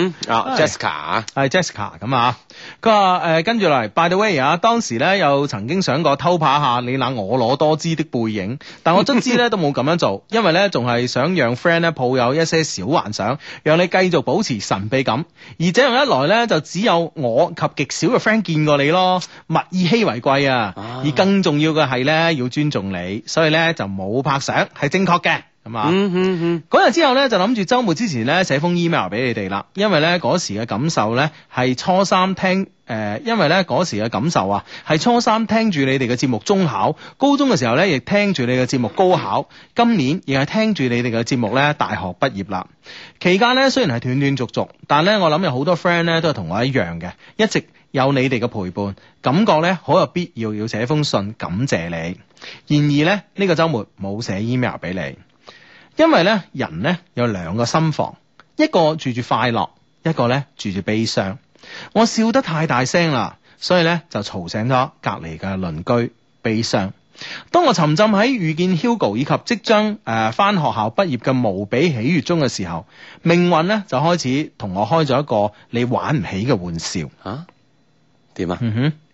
Jessica 係 Jessica 咁啊，佢話跟住嚟 ，by the way 啊，當時咧又曾經想過偷拍下你那婀娜多姿的背影，但我卒之咧都冇咁樣做，因為咧仲係想讓 friend 咧抱有一些小幻想，讓你繼續保持神秘感，而這樣一來咧就只有我及極少嘅 friend 見過你咯，物以稀為貴啊！而更重要嘅係咧，要尊重你，所以咧就冇拍相，係正確嘅，係嘛？嗰日之後咧就諗住週末之前咧寫封 email 俾你哋啦，因為咧嗰時嘅感受咧係初三聽因為咧嗰時嘅感受啊係初三聽住你哋嘅節目中考，高中嘅時候咧亦聽住你嘅節目高考，今年亦係聽住你哋嘅節目咧大學畢業啦。期間咧雖然係斷斷續續，但咧我諗有好多 friend 咧都係同我一樣嘅，一直有你哋嘅陪伴，感覺咧好有必要寫封信感謝你。然而咧呢個週末冇寫 email 俾你，因為咧人咧有2個心房，一個住住快樂，一個咧住住悲傷。我笑得太大聲啦，所以咧就嘈醒咗隔離嘅鄰居悲傷。當我沉浸喺遇見 Hugo 以及即將返學校畢業嘅無比喜悅中嘅時候，命運咧就開始同我開咗一個你玩唔起嘅玩笑。 點啊？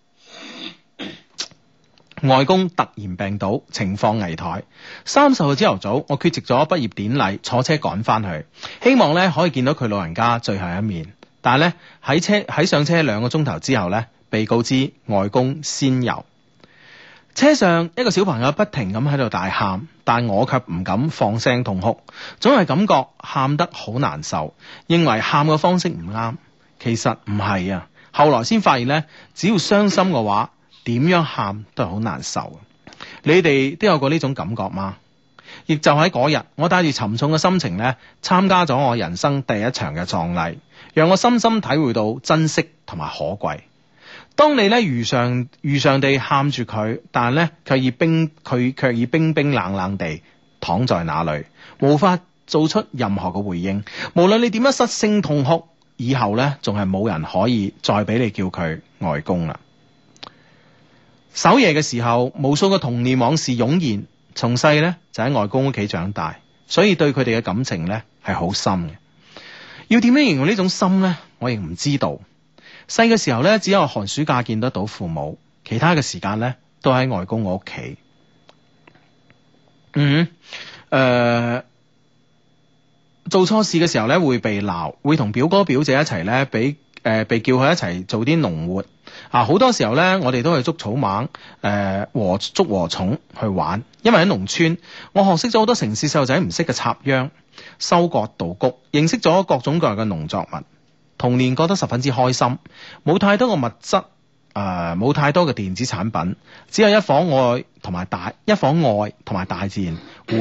外公突然病倒，情況危殆。30號朝頭早，我缺席咗畢業典禮，坐車趕翻去，希望咧可以見到佢老人家最後一面。但係咧喺上車2個鐘頭之後咧，被告知外公仙遊。車上一個小朋友不停咁喺度大喊，但我卻唔敢放聲痛哭，總係感覺喊得好難受，認為喊嘅方式唔啱。其實唔係啊，後來先發現咧，只要傷心嘅話，點樣喊都係好難受。你哋都有過呢種感覺嗎？亦就喺嗰日，我帶住沉重嘅心情咧，參加咗我人生第一場嘅葬禮，讓我深深體會到珍惜同埋可貴。當你咧如常地喊住佢，但係咧卻已冰冰冷冷地躺在那裏，無法做出任何嘅回應。無論你點樣失聲痛哭，以後咧仲係冇人可以再俾你叫佢外公啦。守夜嘅時候，無數嘅童年往事湧現。從細咧就喺外公屋企長大，所以對佢哋嘅感情咧係好深嘅。要點樣形容呢種深咧，我亦唔知道。細嘅時候咧，只有寒暑假見得到父母，其他嘅時間咧都喺外公我屋企。 做錯事嘅時候咧會被鬧，會同表哥表姐一齊咧被叫去一齊做啲農活啊！好多時候咧，我哋都去捉草蜢、捉禾蟲去玩，因為喺農村，我學識咗好多城市細路仔唔識嘅插秧、收割稻谷，認識咗各種各樣嘅農作物。童年覺得十分之開心，冇太多嘅物質，冇太多嘅電子產品，只有一顆愛同埋大自然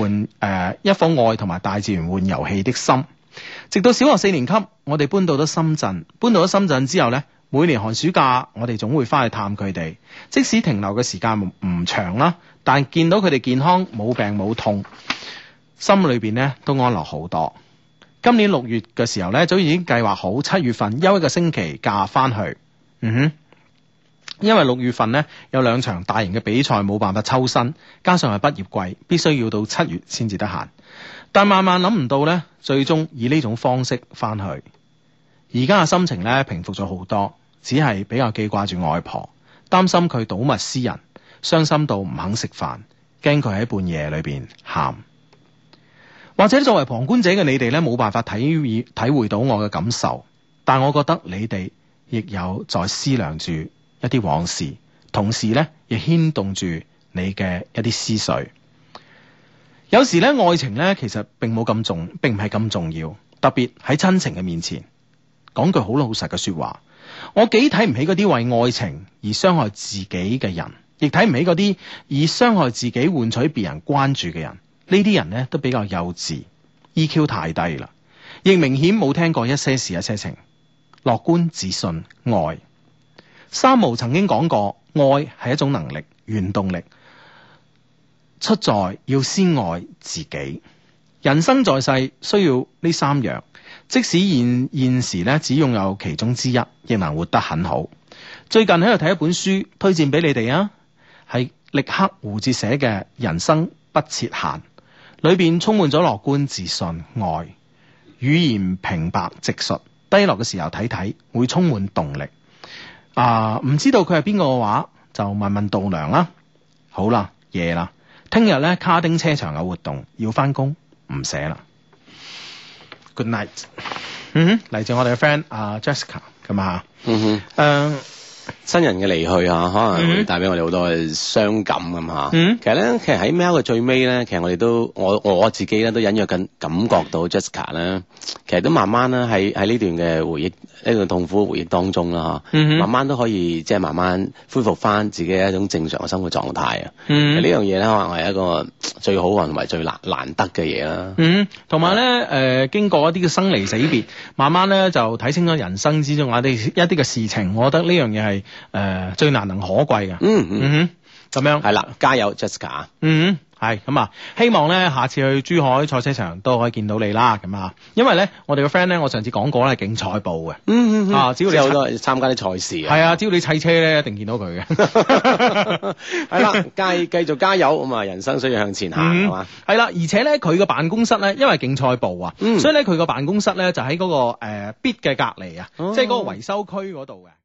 玩遊戲的心。直到小學4年級，我哋搬到咗深圳。搬到咗深圳之後呢，每年寒暑假我哋總會翻去探佢哋，即使停留嘅時間唔長啦，但見到佢哋健康冇病冇痛，心裏邊呢都安樂好多。今年6月嘅時候呢，早已經計劃好7月份休一個星期假翻去。因為6月份呢有2場大型嘅比賽冇辦法抽身，加上係畢業季，必須要到7月先至得閒。但萬萬諗唔到呢，最終以呢種方式翻去。而家嘅心情呢平復咗好多，只係比較記掛住外婆，擔心佢睹物思人，傷心到唔肯食飯，驚佢喺半夜裏邊喊。或者作為旁觀者嘅你哋呢，冇辦法體會到我嘅感受，但我覺得你哋亦有在思量住一啲往事，同時呢亦牽動住你嘅一啲思緒。有時咧，愛情咧其實並唔係咁重要，特別喺親情嘅面前。講句好老實嘅說話，我幾睇唔起嗰啲為愛情而傷害自己嘅人，亦睇唔起嗰啲以傷害自己換取別人關注嘅人。呢啲人咧都比較幼稚 ，EQ 太低啦，亦明顯冇聽過一些事一些情。樂觀、自信、愛。三毛曾經講過，愛係一種能力、原動力。出在要先愛自己。人生在世需要呢3樣，即使現時咧只擁有其中之一，亦能活得很好。最近喺度睇一本書，推薦俾你哋啊，係力克胡哲寫嘅《人生不設限》，裏邊充滿咗樂觀、自信、愛，語言平白直述，低落嘅時候睇睇會充滿動力。唔知道佢係邊個嘅話，就問問度娘啦。好啦，夜啦。聽日咧卡丁車場有活動，要翻工，唔寫啦。Good night。嚟自我哋嘅 friend Jessica 咁啊。 新人嘅離去啊，可能會帶俾我哋好多嘅傷感咁嚇。其實喺 mail 嘅最尾咧，其實我哋都我自己咧都隱約緊感覺到 Jessica 咧，其實都慢慢咧喺呢段嘅回憶，呢段痛苦回憶當中啦嚇，慢慢都可以即係慢慢恢復翻自己一種正常嘅生活狀態啊。呢樣嘢咧可能係一個最好同埋最難得嘅嘢啦。 同埋咧經過一啲嘅生離死別，慢慢咧就睇清咗人生之中一啲嘅事情，我覺得呢樣嘢係最難能可貴嘅。咁樣係啦，加油 Jessica。 係咁啊，希望咧下次去珠海賽車場都可以見到你啦。咁啊，因為咧我哋個 friend 咧，我上次講過咧係競賽部嘅。只要你好多參加啲賽事係啊，只要你砌車咧，一定見到佢嘅。 係啦，繼續加油咁啊！人生需要向前行係嘛。 係啦，而且咧佢個辦公室咧，因為競賽部啊，所以咧佢個辦公室咧就喺嗰個 bit 嘅隔籬啊，即係嗰個維修區嗰度嘅。